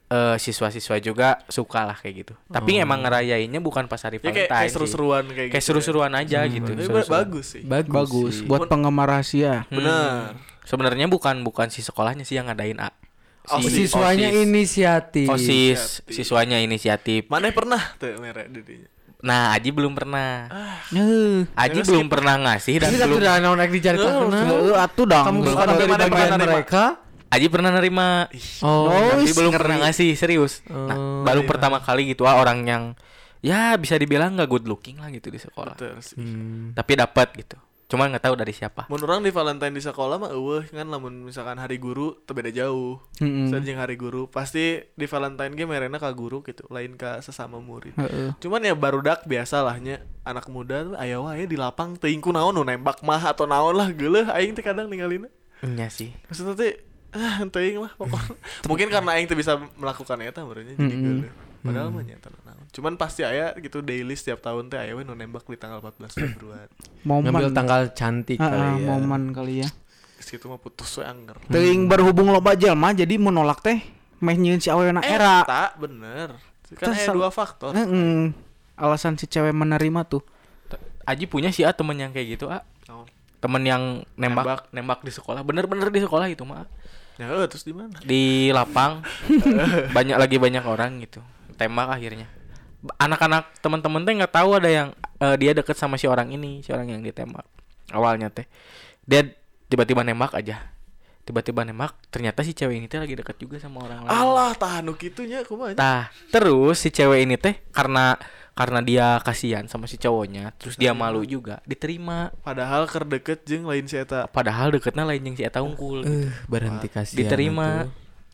eh, siswa-siswa juga suka lah kayak gitu. Tapi emang ngerayainnya bukan pas hari Ya kayak, Valentine kayak sih. seru-seruan kayak, Kayak gitu. seru-seruan aja gitu. Tapi seru-seruan. bagus sih. Bagus. Bagus sih. buat penggemar rahasia. Benar. Sebenarnya bukan bukan si sekolahnya sih yang ngadain A. Oh, Si Siswanya OSIS. inisiatif. OSIS, siswanya inisiatif. Mana pernah tuh merek dirinya? Nah, Aji belum pernah. Heuh. Aji Nggak belum pernah ngasih dan Ini belum. sudah naon ek dicaritakeun. Heuh, atuh dong. Kamu Belum. bukan Tapi dari mana bagian pernah nerima? mereka. Aji pernah nerima. Oh, Tapi wis, belum ngeri. pernah ngasih serius. Nah, Oh, baru iya. pertama kali gitu ah orang yang ya bisa dibilang nggak good looking lah gitu di sekolah. Betul sih. Hmm. Tapi dapat gitu. Cuma nggak tahu dari siapa. Mun orang di Valentine di sekolah mah eueuh kan lamun misalkan hari guru teu beda jauh. Mm-mm. Misalnya jeung hari guru pasti di Valentine ge merena ka guru gitu, lain ka sesama murid. Heeh. Cuman ya barudak biasalahnya anak muda tuh aya wae di lapang teuing ku naon nu nembak mah atau naon lah geuleuh aing teh kadang ninggalina. Iya sih. Maksudnya teh ah teuing lah pokoknya. Mungkin karena aing teh bisa melakukan eta berarti jadi Mm-mm. geuleuh. Padahal mah nyata naon. Cuman pasti aya gitu daily setiap tahun teh aya we nu nembak di tanggal empat belas Februari. Ngambil Momen. tanggal cantik Heeh, kali ya. momen kali ya. Situ mah putus we anger. Teuing berhubung loba jelema jadi menolak teh meh nyieun si awena era. Eta bener. Kan Terus ada sal- dua faktor. Heeh. Alasan si cewek menerima tuh. Aji punya sih ah temen yang kayak gitu ah. Naon? Temen yang nembak Nembak. nembak di sekolah. Bener-bener di sekolah itu mah. Ya eh, terus di mana? Di lapang banyak lagi banyak orang gitu. Tembak akhirnya. Anak-anak teman-teman teh nggak tahu ada yang eh, dia deket sama si orang ini, si orang yang ditembak. Awalnya teh dia tiba-tiba nembak aja. Tiba-tiba nembak, ternyata si cewek ini teh lagi deket juga sama orang lain. Allah tahan nu kitunya kumaha. Tah, terus si cewek ini teh karena karena dia kasihan sama si cowoknya, terus dia malu juga, diterima. Padahal keur deket jeung lain si eta. Padahal deketnya lain yang si eta unggul. Eh, berhenti kasihan. Diterima. atuh.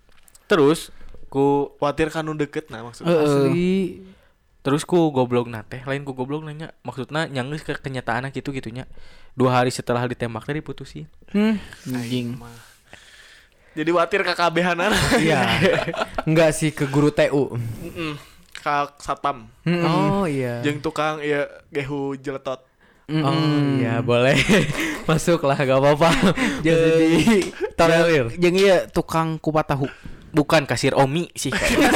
Terus ku Kuatir kan nu deket nah maksudnya. Heeh. Asli. terus ku goblok nate, lain ku goblok nanya, maksudnya nyanggeus ke kenyataan gitu gitunya. Dua hari setelah ditembak teh diputusin. Hmm, anjing. Mah. Jadi watir ka kabehanan. Iya. Enggak sih ke guru T U. Heeh. Ka satpam. Oh iya. Jeung tukang ieu gehu jeletot. Oh iya boleh. Masuk lah gak apa-apa. Jadi tolerir. Jeung ieu tukang kupat tahu. Bukan kasir Omi sih.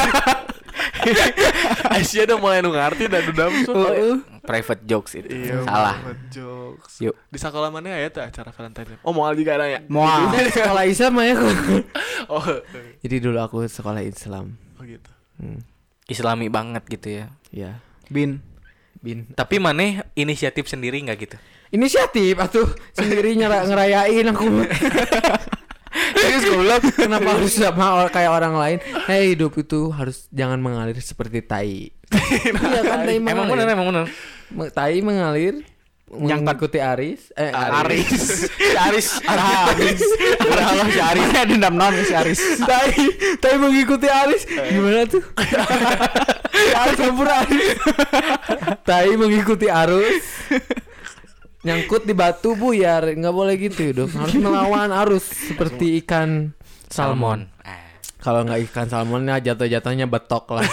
Asia udah mulai nu ngarti dan dudam Heeh. Private jokes itu. Iya, Salah. banget jokes. Yuk. Di sekolah mana aya teh acara Valentine? Oh, moal juga ada ya? Moal. Udah sekolah Islam ya. Oh, Jadi dulu aku sekolah Islam. oh gitu. Hmm. Islami banget gitu ya. Ya. Bin. Bin. Tapi maneh inisiatif sendiri nggak gitu? Inisiatif atuh sendiri nyera- ngerayain aku. Serius goblok. Kenapa harus sama or- kayak orang lain? Hei, hidup itu harus jangan mengalir seperti tai. Iya kan tai Emang mengalir. bener, emang bener. Me- Tai mengalir yang mengikuti Aris eh Aris. Si Aris. Aris. Halo si Aris. Dendam naon si Aris. Tai Tai mengikuti Aris gimana tuh? Aris campur Aris. Tai mengikuti arus. Nyangkut di batu buyar, nggak boleh gitu dong. Harus melawan arus seperti ikan salmon. Salmon. Ah. Kalau nggak ikan salmonnya jatuh-jatuhnya betok lah.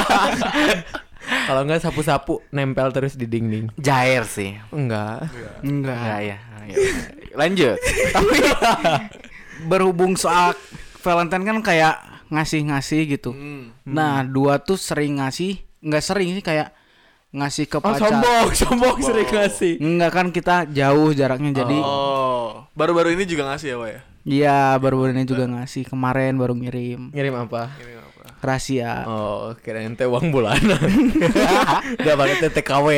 Kalau nggak sapu-sapu nempel terus di dinding. Jair sih. Enggak. Enggak. Ya, ya. Ya. Lanjut. Tapi berhubung soal Valentine kan kayak ngasih-ngasih gitu. Hmm. Nah, dua tuh sering ngasih, nggak sering sih kayak ngasih ke Oh pacar. sombong, sombong sering ngasih. Enggak kan kita jauh jaraknya jadi Oh, baru-baru ini juga ngasih ya, Wak ya? iya baru-baru ini juga ngasih kemarin baru ngirim Ngirim apa? Ini apa? rahasia. Oh, kirain teh uang bulanan. Udah pakai T K W.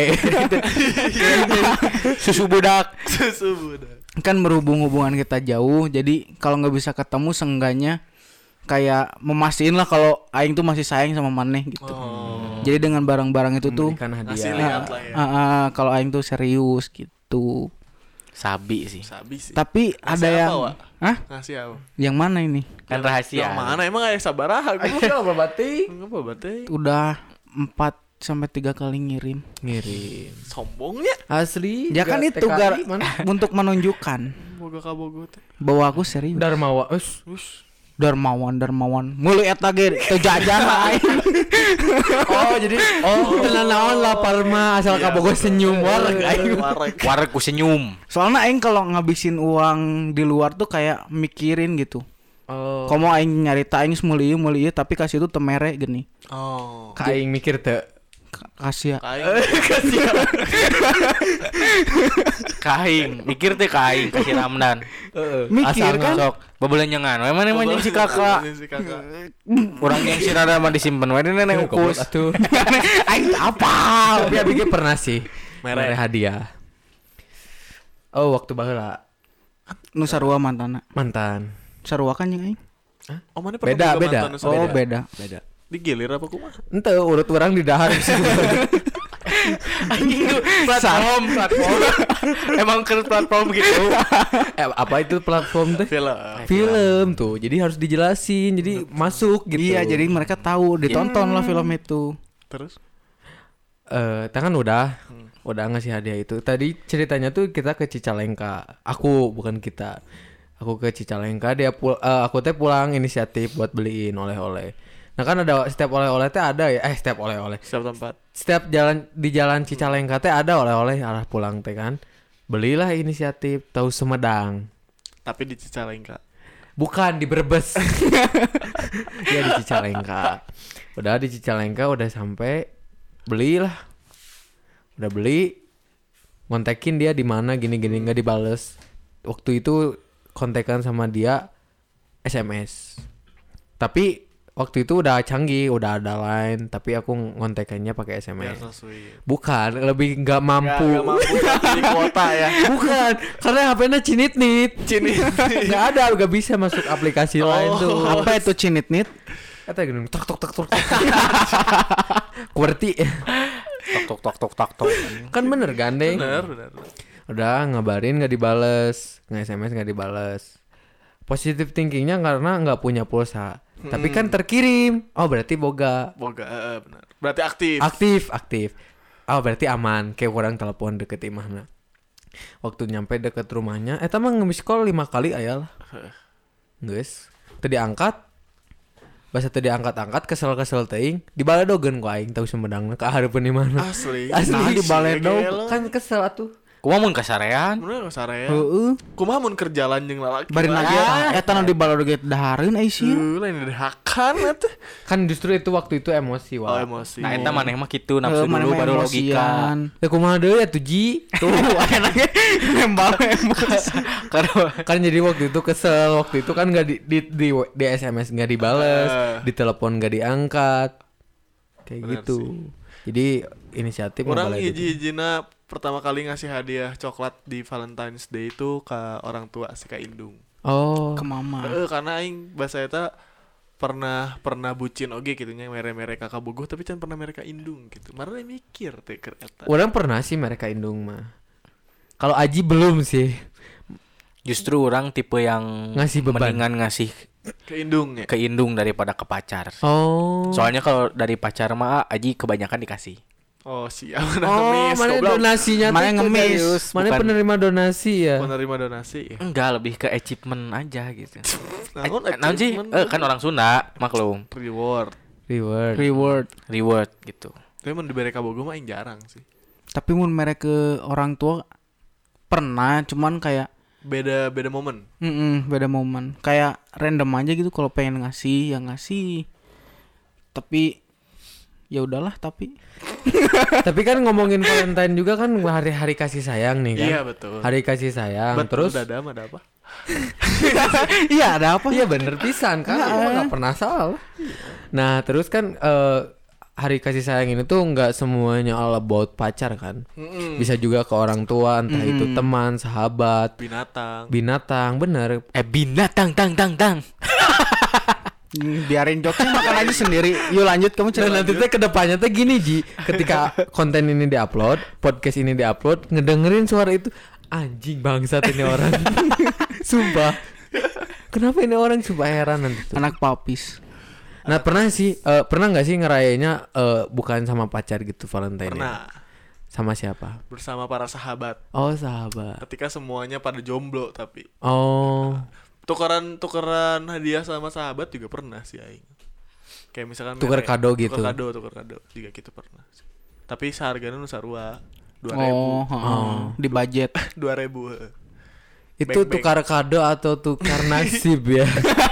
Susu budak. Susu budak. Kan berhubung hubungan kita jauh jadi kalau nggak bisa ketemu seenggaknya kayak memastiin lah kalau aing tuh masih sayang sama maneh gitu. Oh. Jadi dengan barang-barang itu tuh Memberikan Ngasih hadiah. lihat lah ya. ah, ah, kalau aing tuh serius gitu. Sabi sih. Sabi sih. Tapi Ngasih ada apa, yang Wak? Hah? Ngasih apa? Yang mana ini? Kan rahasia. Yang mana emang aya sabaraha gua? Enggak berarti. Enggak apa berarti. Udah empat sampai tiga kali ngirim. Ngirim. Sombongnya. Asli. Ya kan juga itu T K I gar mana? untuk menunjukkan Boga ka bogo teh. bahwa aku serius. Darmawa. Us. Us. Darmawan Darmawan mulai eta ge teu jajan aing. Oh, jadi oh, tenan naon lapar mah asal Iya, kabogo senyum wareg aing. Wareg. Wareg ku senyum. Soalnya aing kalau ngabisin uang di luar tuh kayak mikirin gitu. Oh. Komo aing nyarita aing semulia mulia tapi kasih itu temere gini. Oh. Ka aing mikir teu. Kasih ya. Kain. Kaing, mikir teh kaing kasih Ramdan. Heeh. Mikir kan? Sok, babelan nyengan. We mana emang jeung si kakak. Si kakak. Urang yang si Rada mah disimpen we di nenek ukus. Atuh. Aing apa? Tapi abi ge pernah sih. Mere. Mere hadiah. Oh, waktu baheula Nu sarua mantana. mantan. Sarua kan jeung aing. Oh, mana pernah Beda, boga beda. mantan nu Oh, sarua? beda. Beda. Digilir apa kumaha? Ente urut orang di dahar Anjing tuh platform, platform. Emang ke platform gitu. eh, apa itu platform teh? Film. Film tuh. Jadi harus dijelasin. Jadi masuk gitu. Iya, jadi mereka tahu, ditonton lah film itu. Terus? eh tangan udah udah ngasih hadiah itu. Tadi ceritanya tuh kita ke Cicalengka. Aku bukan kita. Aku ke Cicalengka, dia pul eh, aku teh pulang inisiatif buat beliin oleh-oleh. Nah kan ada setiap oleh-oleh teh ada ya. Eh setiap oleh-oleh. Setiap tempat. Setiap jalan di jalan Cicalengka teh ada oleh-oleh arah pulang teh kan. Belilah inisiatif tahu Sumedang. Tapi di Cicalengka. Bukan di Brebes. Ya di Cicalengka. Udah di Cicalengka udah sampai belilah. Udah beli. Kontekin dia di mana gini-gini nggak dibales. Waktu itu kontekan sama dia S M S. Tapi waktu itu udah canggih, udah ada line, tapi aku ngontekannya pakai S M S. Biar so sweet. Bukan, lebih nggak mampu. Nggak mampu tapi di kuota ya. Bukan, karena H P-nya cinit-nit. Cinit. Nggak ada, nggak bisa masuk aplikasi Oh. lain tuh. Apa itu cinit-nit? Kata gini, tok tok tok tok. tok. Kuerti. Tok tok tok tok tok tok. Kan bener gandeng. Bener, bener. Udah ngabarin nggak dibales, nge-S M S nggak dibales. Positive thinkingnya karena nggak punya pulsa. Tapi kan terkirim. Oh berarti boga. Boga, eh, benar. Berarti aktif. Aktif, aktif. Oh berarti aman. Kayak orang telepon deket imahna. Waktu nyampe deket rumahnya, eta mah nge-miss call lima kali aya lah. Geus. Teu diangkat. Basa teu diangkat-angkat, kesel-kesel teuing. Dibaledogeun ku aing tahu Sumedangna ka hareupeun imahna. Asli. Asli Nah, dibaledog. Kan kesel atuh. Kumaha mun kasarean? Bener saraya. Heeh. Kumaha mun keur jalan jeung lalaki. Bari lagi eta nu di balodoget dahareun ai sih. Uh, lain dihakan atuh. Kan justru itu waktu itu emosi Oh, wah. emosi. Nah, eta maneh mah kitu Heuh, nafsu mana dulu mah baru logika. emosian. Ya kumaha deui atuh Ji? Tuh, enaknya nembal emosi. Kan jadi waktu itu kesel, waktu itu kan nggak di, di di di S M S nggak dibales, Eh. di telepon nggak diangkat, kayak Bener gitu. Jadi inisiatif Orang ngebalai gitu. hiji-hijina pertama kali ngasih hadiah coklat di Valentine's Day itu ke orang tua si Kak Indung. Oh, Ke mama. Heeh, karena aing bahasa eta pernah pernah bucin oge gitu nya mere-mere kakak bogoh tapi can pernah mere Kak Indung gitu. Marane mikir teh keur eta. orang pernah sih mereka indung mah. Kalau Aji belum sih. Justru orang tipe yang Ngasih beban. mendingan ngasih Ke Indung ya. ke indung daripada ke pacar. Oh. Soalnya kalau dari pacar mah Aji kebanyakan dikasih. Oh, siap. Nah, Oh, ngemis mana goblok. donasinya tuh Mana itu ngemis, Darius. Mana bukan- penerima donasi ya? Penerima donasi ya. Enggak, lebih ke achievement aja gitu. Naon Eh, naon sih? achievement? Eh, kan orang Sunda, maklum. Reward. Reward. Reward. Reward gitu. Tapi mun dibere ka bogoh mah aing jarang sih. Tapi mun mereka ke orang tua pernah, cuman kayak Beda beda momen. mm beda momen. Kayak random aja gitu kalau pengen ngasih, ya ngasih. Tapi ya udahlah, tapi Tapi kan ngomongin Valentine juga kan hari-hari kasih sayang nih kan. Iya, betul. Hari kasih sayang. Betul, Terus ada ada apa? iya ada apa? iya bener pisan kan. Gua nggak pernah salah. Nah terus kan eh, hari kasih sayang ini tuh nggak semuanya all about pacar kan. Mm-mm. Bisa juga ke orang tua, entah itu teman, sahabat, Binatang. binatang, bener. Eh binatang tang tang tang. Hmm, biarin jokesnya makan aja sendiri. Yuk lanjut kamu Dan cerita. nanti teh kedepannya teh gini Ji, ketika konten ini diupload, podcast ini diupload, ngedengerin suara itu, anjing bangsat ini orang. Sumpah. Kenapa ini orang sumpah heran nanti tuh. Anak papis. Nah pernah sih, eh, pernah nggak sih ngerayainya eh, bukan sama pacar gitu Valentine? Pernah Sama siapa? bersama para sahabat. Oh sahabat. Ketika semuanya pada jomblo tapi Oh. tukeran tukeran hadiah sama sahabat juga pernah sih aing. Kayak misalkan Tuker mere- kado gitu. Tuker kado, tuker kado juga gitu pernah. Tapi seharganya nu sarua dua ribu. Oh, heeh. Di budget. dua ribu. heeh. Itu Beng-beng. tukar kado atau tukar nasib ya?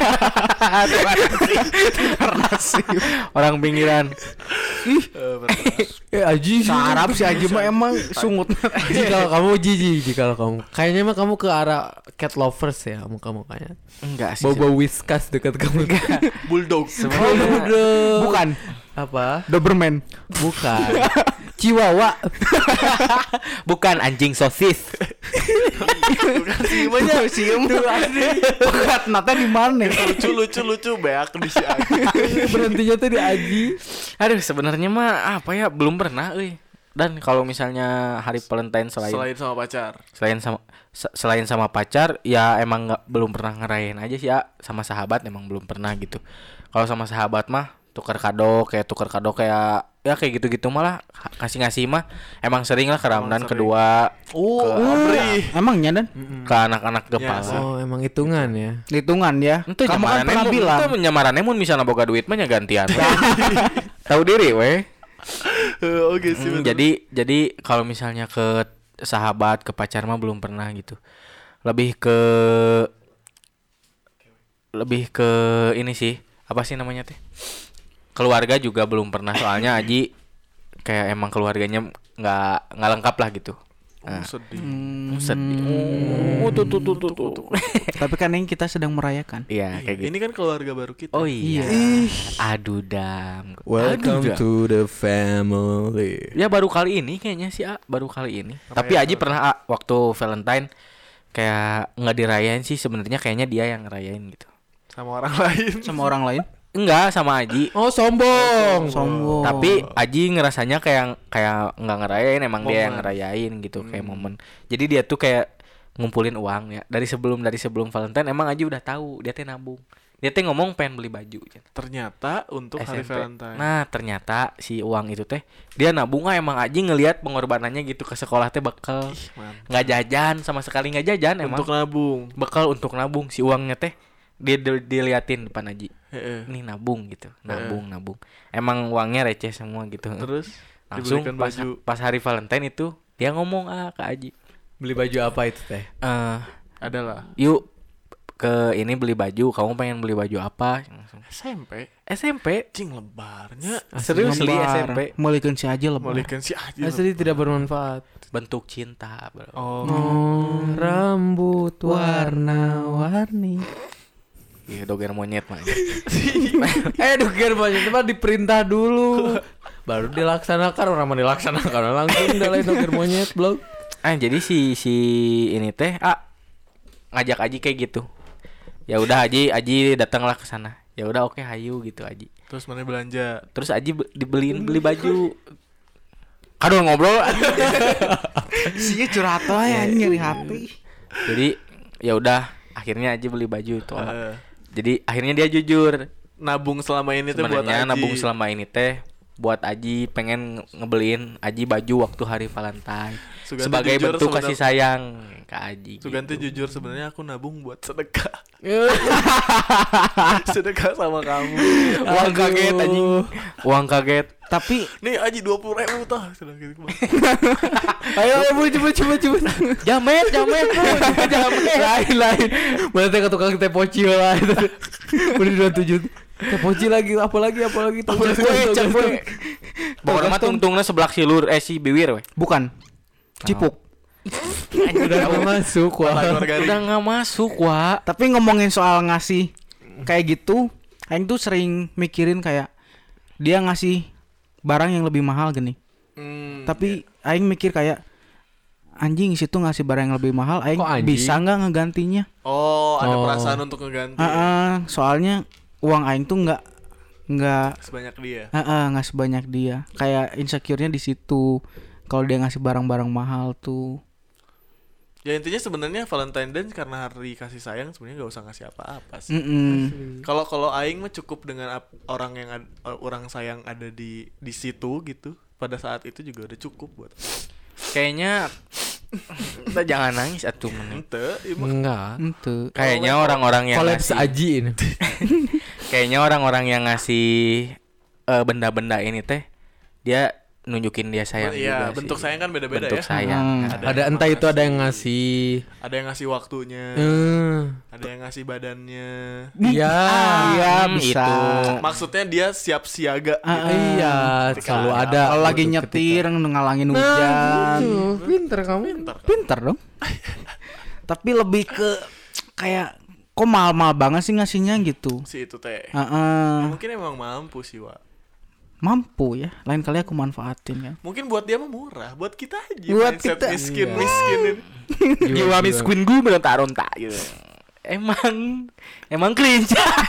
Orang pinggiran. Eh, bener. Eh Aji Sarap si Aji mah emang sungut. Ji kalau kamu Ji Ji kalau kamu kayaknya mah kamu ke arah cat lovers ya kamu kamu kayaknya. Enggak sih. Bau-bau whiskas dekat kamu. Bulldog. Sebenarnya Bukan Apa? Doberman. Bukan. Chihuahua. bukan anjing sosis. Bukan sih banyak sih. Bukan nata di mana? Lucu lucu lucu beak di si Aji. Berhentinya tuh di Aji. Aduh, sebenarnya mah apa ya, belum pernah euy. Dan kalau misalnya hari Valentine selain Selain sama pacar. selain sama se- selain sama pacar ya emang nggak belum pernah ngerayain aja sih ya, sama sahabat emang belum pernah gitu. Kalau sama sahabat mah tukar kado kayak tukar kado kayak ya kayak gitu-gitu malah ngasih-ngasih mah emang sering lah ke Ramadan sering. kedua Oh, ke, Amri. Emangnya dan ke anak-anak Ya, gepala. sih. Oh, emang hitungan ya. hitungan ya. Itu Kamu kan nyamarannya pernah mun- bilang. itu nyamarannya mun misalnya boga duit mah nya gantian. Tahu diri weh. Eh, Oke sih. Hmm, bener. jadi jadi kalau misalnya ke sahabat, ke pacar mah belum pernah gitu. Lebih ke lebih ke ini sih, apa sih namanya teh? Keluarga juga belum pernah soalnya Aji kayak emang keluarganya nggak nggak lengkap lah gitu. Oh, Nah, sedih. Hmm, sedih. Oh, tuh tuh tuh tuh. tuh. Tapi kan ini kita sedang merayakan. Iya, kayak gitu. Ini kan keluarga baru kita. Oh iya. Ih. Aduh dam. Welcome Aduh, dam. to the family. Ya baru kali ini kayaknya sih A, baru kali ini. Tapi Aji pernah A, waktu Valentine kayak nggak dirayain sih, sebenarnya kayaknya dia yang ngerayain gitu. Sama orang lain. Sama orang lain. Enggak, sama Aji. Oh, sombong. Sombong. Tapi Aji ngerasanya kayak kayak nggak ngerayain, emang dia yang Momen. ngerayain gitu, kayak momen. Jadi dia tuh kayak ngumpulin uang ya. Dari sebelum dari sebelum Valentine emang Aji udah tahu dia teh nabung. Dia teh ngomong pengen beli baju. Ternyata untuk hari S M P. Valentine. Nah, ternyata si uang itu teh dia nabung ah, emang Aji ngelihat pengorbanannya gitu ke sekolah teh bekal. Mantap. Nggak jajan, sama sekali nggak jajan emang. Untuk nabung. Bekal untuk nabung si uangnya teh dia dia- diliatin depan Aji. Heeh. Ini nabung gitu. Nabung, nabung. Emang uangnya receh semua gitu. Terus Langsung dibelikan pas, baju. pas hari Valentine itu dia ngomong ah ke Aji. Beli baju apa itu teh? Eh, Adalah yuk ke ini beli baju, kamu pengen beli baju apa? Langsung. S M P. S M P. Cing lebarnya. Serius li S M P. Melikan si Aji lebar. Malikan si Aji. Asli tidak bermanfaat. Bentuk cinta, bro. Oh. Oh, rambut Warna-warni. Iya, doger monyet mah. eh duker banyak tempat diperintah dulu baru dilaksanakan orang mau dilaksanakan langsung udah lain duker monyet blog. Ah, jadi si si ini teh ah ngajak Aji kayak gitu. Ya udah Aji Aji datanglah ke sana. Ya udah oke hayu gitu Aji. Terus mana belanja? Terus Aji be- dibeliin beli baju. Aduh ngobrol. Si curhat ya nyeri hati. Jadi ya udah akhirnya Aji beli baju itu. Eh, Jadi akhirnya dia jujur. nabung selama ini tuh buat Sebenarnya Aji. nabung selama ini teh buat Aji pengen ngebeliin Aji baju waktu hari Valentine. Suganti Sebagai jujur bentuk sebenarnya- kasih sayang ke Aji. Suganti gitu. jujur sebenarnya aku nabung buat sedekah. Sedekah sama kamu. Uang kaget anjing. Uang kaget. Tapi Nih Aji dua puluh ribu tah. Sudah gitu. Ayo ayo bu coba coba coba Jamet, jamet, bro. Jamet. lain lain mana teh ke tukang teh poci lah itu udah dua tujuh teh poci lagi apa lagi apa lagi tong gas, tong gas, tong. Pokoknya mah tungtungna sebelah silur eh si Biwir we. bukan. Cipuk. udah mau masuk wah Udah nggak masuk, Wak. Tapi ngomongin soal ngasih kayak gitu, Aing tuh sering mikirin kayak dia ngasih barang yang lebih mahal gini. Hmm, Tapi Aing mikir kayak anjing situ ngasih barang yang lebih mahal, Aing Kok anjing? bisa nggak ngegantinya? Oh, ada Oh. perasaan untuk ngeganti. Heeh, soalnya uang Aing tuh nggak nggak Sebanyak dia. heeh, nggak sebanyak dia. Kayak insecure-nya di situ. Kalau dia ngasih barang-barang mahal tuh. Ya intinya sebenarnya Valentine Day karena hari kasih sayang sebenarnya nggak usah ngasih apa-apa sih. Mm-mm. Kalau kalau aing mah cukup dengan ap- orang yang ad- orang sayang ada di di situ gitu. Pada saat itu juga udah cukup buat. Kayaknya kita jangan nangis atuh meneng. Ente, iya mah. enggak Ente. Kayaknya orang-orang yang kolaps ngasih Aji ini kayaknya orang-orang yang ngasih eh, benda-benda ini teh dia nunjukin dia sayang Iya, juga bentuk sih. sayang kan beda-beda bentuk ya. sayang. Hmm. Ada. Ada entah itu ada yang ngasih. Ada yang ngasih waktunya, Eh, ada yang ngasih badannya. Iya. Iya Hmm, bisa. itu. Maksudnya dia siap siaga gitu. Iya, Ketika selalu ada ada. Kalau lagi gitu nyetir ngalangin ketika. hujan. Nah, gitu. Pinter kamu. Pintar kan? Pinter dong. Tapi lebih ke kayak kok mahal-mahal banget sih ngasihnya gitu. Si itu teh. Heeh. Mungkin emang mampu sih, Wak. Mampu ya. Lain kali aku manfaatin kan. Mungkin buat dia mah murah, buat kita aja Buat mindset kita. miskin Iya. miskin ini. Jiwa miskin gue berontak-rontak gitu. Emang emang cringe.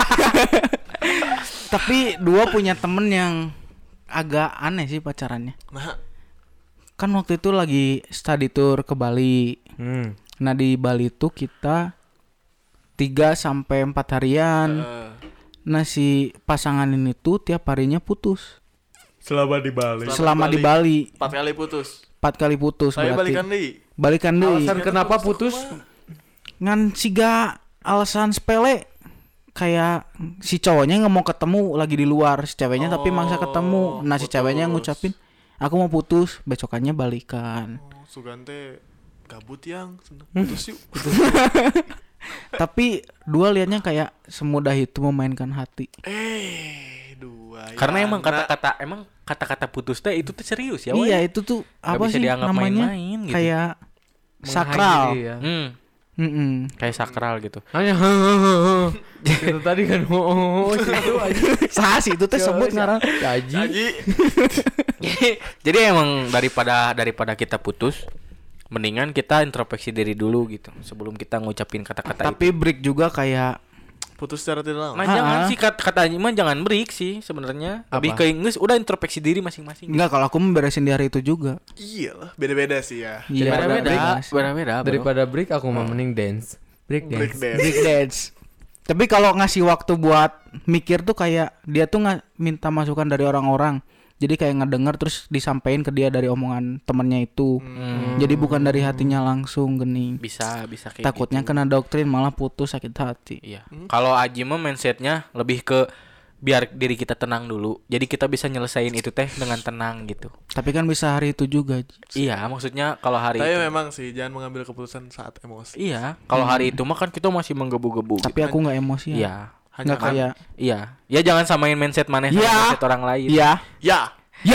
Tapi dua punya temen yang agak aneh sih pacarannya. Nah, Kan waktu itu lagi study tour ke Bali. Hmm. Nah di Bali tuh kita tiga sampai empat harian. eh, Nah si pasangan ini tuh tiap harinya putus. Selama di Bali. Selama Selama di di Bali empat kali putus. empat kali putus Saya berarti. balikan deui. Balikan deui. Alasan kenapa putus? Ngan siga alasan sepele kayak si cowoknya nggak mau ketemu lagi di luar, si ceweknya tapi maksa ketemu. Nah si putus. ceweknya ngucapin aku mau putus, besokannya balikan. Oh, Sugante gabut yang seneng putus yuk. Tapi dua liatnya kayak semudah itu memainkan hati. Eh, dua. Karena ya, emang nah. kata-kata emang kata-kata putus teh itu tuh serius ya. Iya woy. itu tuh Nggak apa bisa sih dianggap namanya? main-main gitu. Kayak sakral. Mengakhiri ya. Hmm, Mm-mm. kayak sakral gitu. Hanya itu tadi kan oh, oh, oh situ aja. Sah sih itu teh sebut ngaran. Gaji. Haji. Jadi emang daripada daripada kita putus, mendingan kita introspeksi diri dulu gitu sebelum kita ngucapin kata-kata itu. Tapi break juga kayak Putus secara tidak Nah, langsung. jangan Ha-ha. sih kata katanya mah jangan break sih sebenarnya. Lebih Apa? ke Inggris udah introspeksi diri masing-masing. enggak kalau aku memberesin di hari itu juga. Iya lah, beda-beda sih ya. Iya, Beda-beda, break. beda-beda. bro. Daripada break aku mau mending dance. Break Break dance. dance. Break dance. Tapi kalau ngasih waktu buat mikir tuh kayak dia tuh nggak minta masukan dari orang-orang. Jadi kayak ngedenger terus disampaikan ke dia dari omongan temennya itu. Hmm, Jadi bukan dari hatinya langsung gening. bisa bisa kayak Takutnya gitu. kena doktrin malah putus sakit hati. Iya. Kalau Aji mah mindsetnya lebih ke biar diri kita tenang dulu. Jadi kita bisa nyelesain itu teh dengan tenang gitu. Tapi kan bisa hari itu juga. Ji. Iya, maksudnya kalau hari Tapi itu. memang sih jangan mengambil keputusan saat emosi. Iya, kalau hari itu mah kan kita masih menggebu-gebu. Tapi gitu. aku nggak emosi. Iya. Hanya Nggak kayak. Iya. Ya jangan samain mindset maneh sama Iya. mindset orang lain. Iya. Ya, Ya.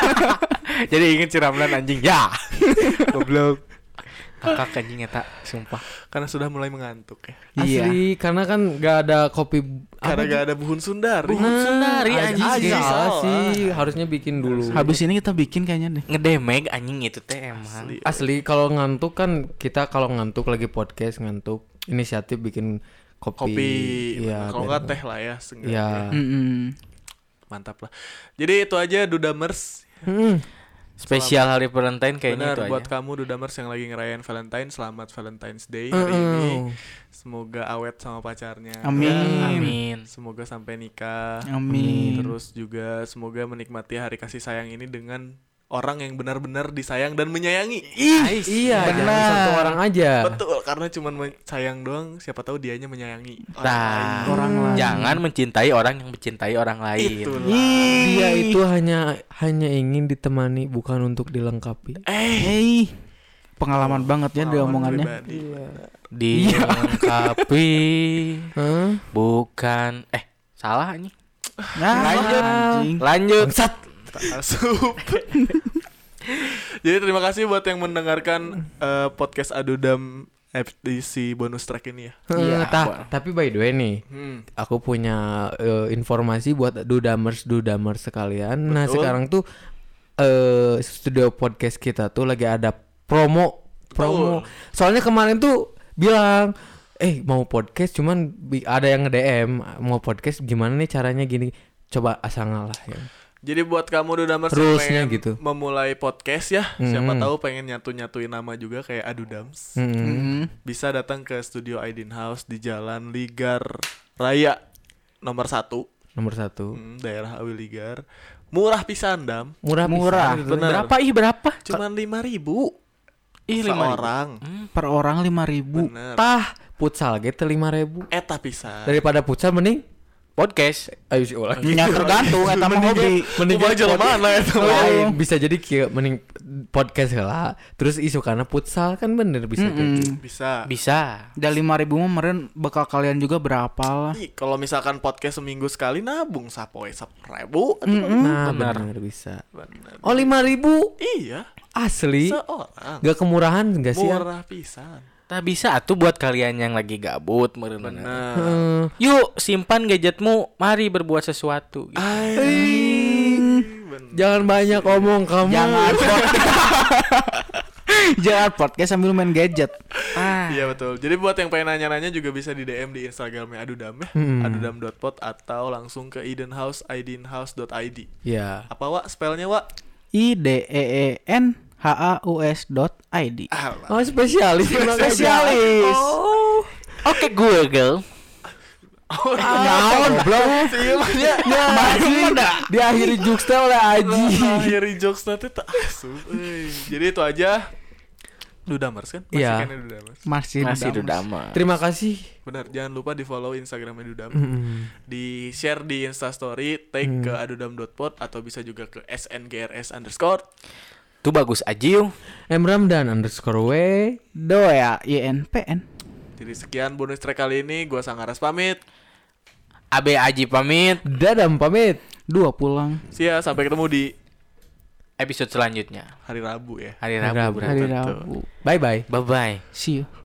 Jadi ingin si Ramlan anjing. Ya. Goblok. Kakak anjing eta, sumpah. karena sudah mulai mengantuk ya. Iya. Asli karena kan gak ada kopi Karena apa gak ada buhun Sundari. Buhun Sundari, Aji anjing. sih, salah Salah. sih harusnya bikin dulu. Habis ini kita bikin kayaknya deh. Ngedemeg anjing itu teh emang. Asli. Asli kalau ngantuk kan kita kalau ngantuk lagi podcast ngantuk inisiatif bikin kopi. Kopi. Iya. Kalau biar- nggak teh lah ya. seenggaknya. Iya. Mm-mm. Mantap lah. Jadi itu aja Dudamers. Hmm. Spesial hari Valentine kayaknya Benar itu buat aja. kamu Dudamers yang lagi ngerayain Valentine, selamat Valentine's Day hari ini. Semoga awet sama pacarnya. Amin. Amin. Semoga sampai nikah. Amin. Terus juga semoga menikmati hari kasih sayang ini dengan orang yang benar-benar disayang dan menyayangi. Ih, iya, jangan benar. satu orang aja. Betul, karena cuman men- sayang doang, siapa tahu dianya menyayangi orang Nah, lain. Orang lain. jangan mencintai orang yang mencintai orang lain. Itulah. Dia itu hanya hanya ingin ditemani bukan untuk dilengkapi. Eh, Hey, pengalaman banget ya dia pengalaman omongannya. pribadi. Dilengkapi Hah? bukan eh salah nih. Nah, Lanjut. anjing. Lanjut. Asup. Jadi terima kasih buat yang mendengarkan eh, podcast Adudam edisi bonus track ini ya. Iya, Iya, tah, Bang. tapi by the way nih, Hmm. aku punya eh, informasi buat dudamers dudamers sekalian. Nah, Betul. sekarang tuh eh studio podcast kita tuh lagi ada promo promo. Soalnya kemarin tuh bilang eh mau podcast cuman bi- ada yang nge-D M mau podcast gimana nih caranya gini. Coba asal ngalah ya. Jadi buat kamu Dudamers yang Rulesnya pengen gitu. memulai podcast ya, siapa Mm-mm. tahu pengen nyatu-nyatuin nama juga kayak Adudams. Mm-mm. Mm. Bisa datang ke studio Aidin House di Jalan Ligar Raya nomor satu, Nomor satu. hmm, daerah Awi Ligar. Murah pisan Dam, Murah Murah, pisan. bener. Berapa ih berapa? cuman lima ribu Ih, lima ribu. seorang. Per orang lima ribu. Bener. Tah, futsal gitu lima ribu. Eta pisan. Daripada futsal mending podcast. Ayo sih ulah. Ya tergantung eta mah hobi. Mending Kumaha jelema mana eta mah. lain bisa jadi kieu mending podcast lah. Terus isu karena futsal kan bener bisa jadi. Bisa. Bisa. Da lima ribu mah meureun bekal kalian juga berapa lah. Ih, kalau misalkan podcast seminggu sekali nabung sapoe seribu. Nah, benar. bener bisa. Bener. Oh lima ribu Iya. asli. Seorang. Gak kemurahan gak sih? ya? Murah pisan. Tak bisa atuh buat kalian yang lagi gabut meureun. Bener. Eh, Yuk simpan gadgetmu, mari berbuat sesuatu. Gitu. Aing. Bener. Jangan banyak omong kamu. Jangan podcast. Jangan podcast sambil main gadget. Ah, Iya betul. Jadi buat yang pengen nanya-nanya juga bisa di D M di Instagramnya Adudam ya, Hmm. adudam dot pod atau langsung ke idenhouse idenhouse dot i d. Ya. Apa Wak? Spellnya Wak? I D E E N H A U S dot I D. Alah. Oh spesialis. Spesialis. Oh. Oke Google. Naon belum? Ya, Ya, masih diakhiri jokes teh oleh Aji. akhiri jokes nanti tak asup. euy. Jadi itu aja. Dudamers kan? Masih Iya. kan ya Dudamers. Masih Masih Dudamas. Dudama. Terima kasih. Benar, jangan lupa di follow Instagramnya Dudam. Mm-mm. Di share di Instastory, tag ke adudam dot pod atau bisa juga ke S N G R S underscore. Tuh bagus aja yuk. M Ramdan underscore W. Doya I N P N. Jadi sekian bonus track kali ini. Gua Sangaras pamit. A B Aji pamit. Dadam pamit. Dua pulang. See ya, sampai ketemu di Episode selanjutnya hari Rabu ya. hari Hari Rabu. Rabu. berarti. Hari Betul. Rabu. Bye bye. Bye bye. See you.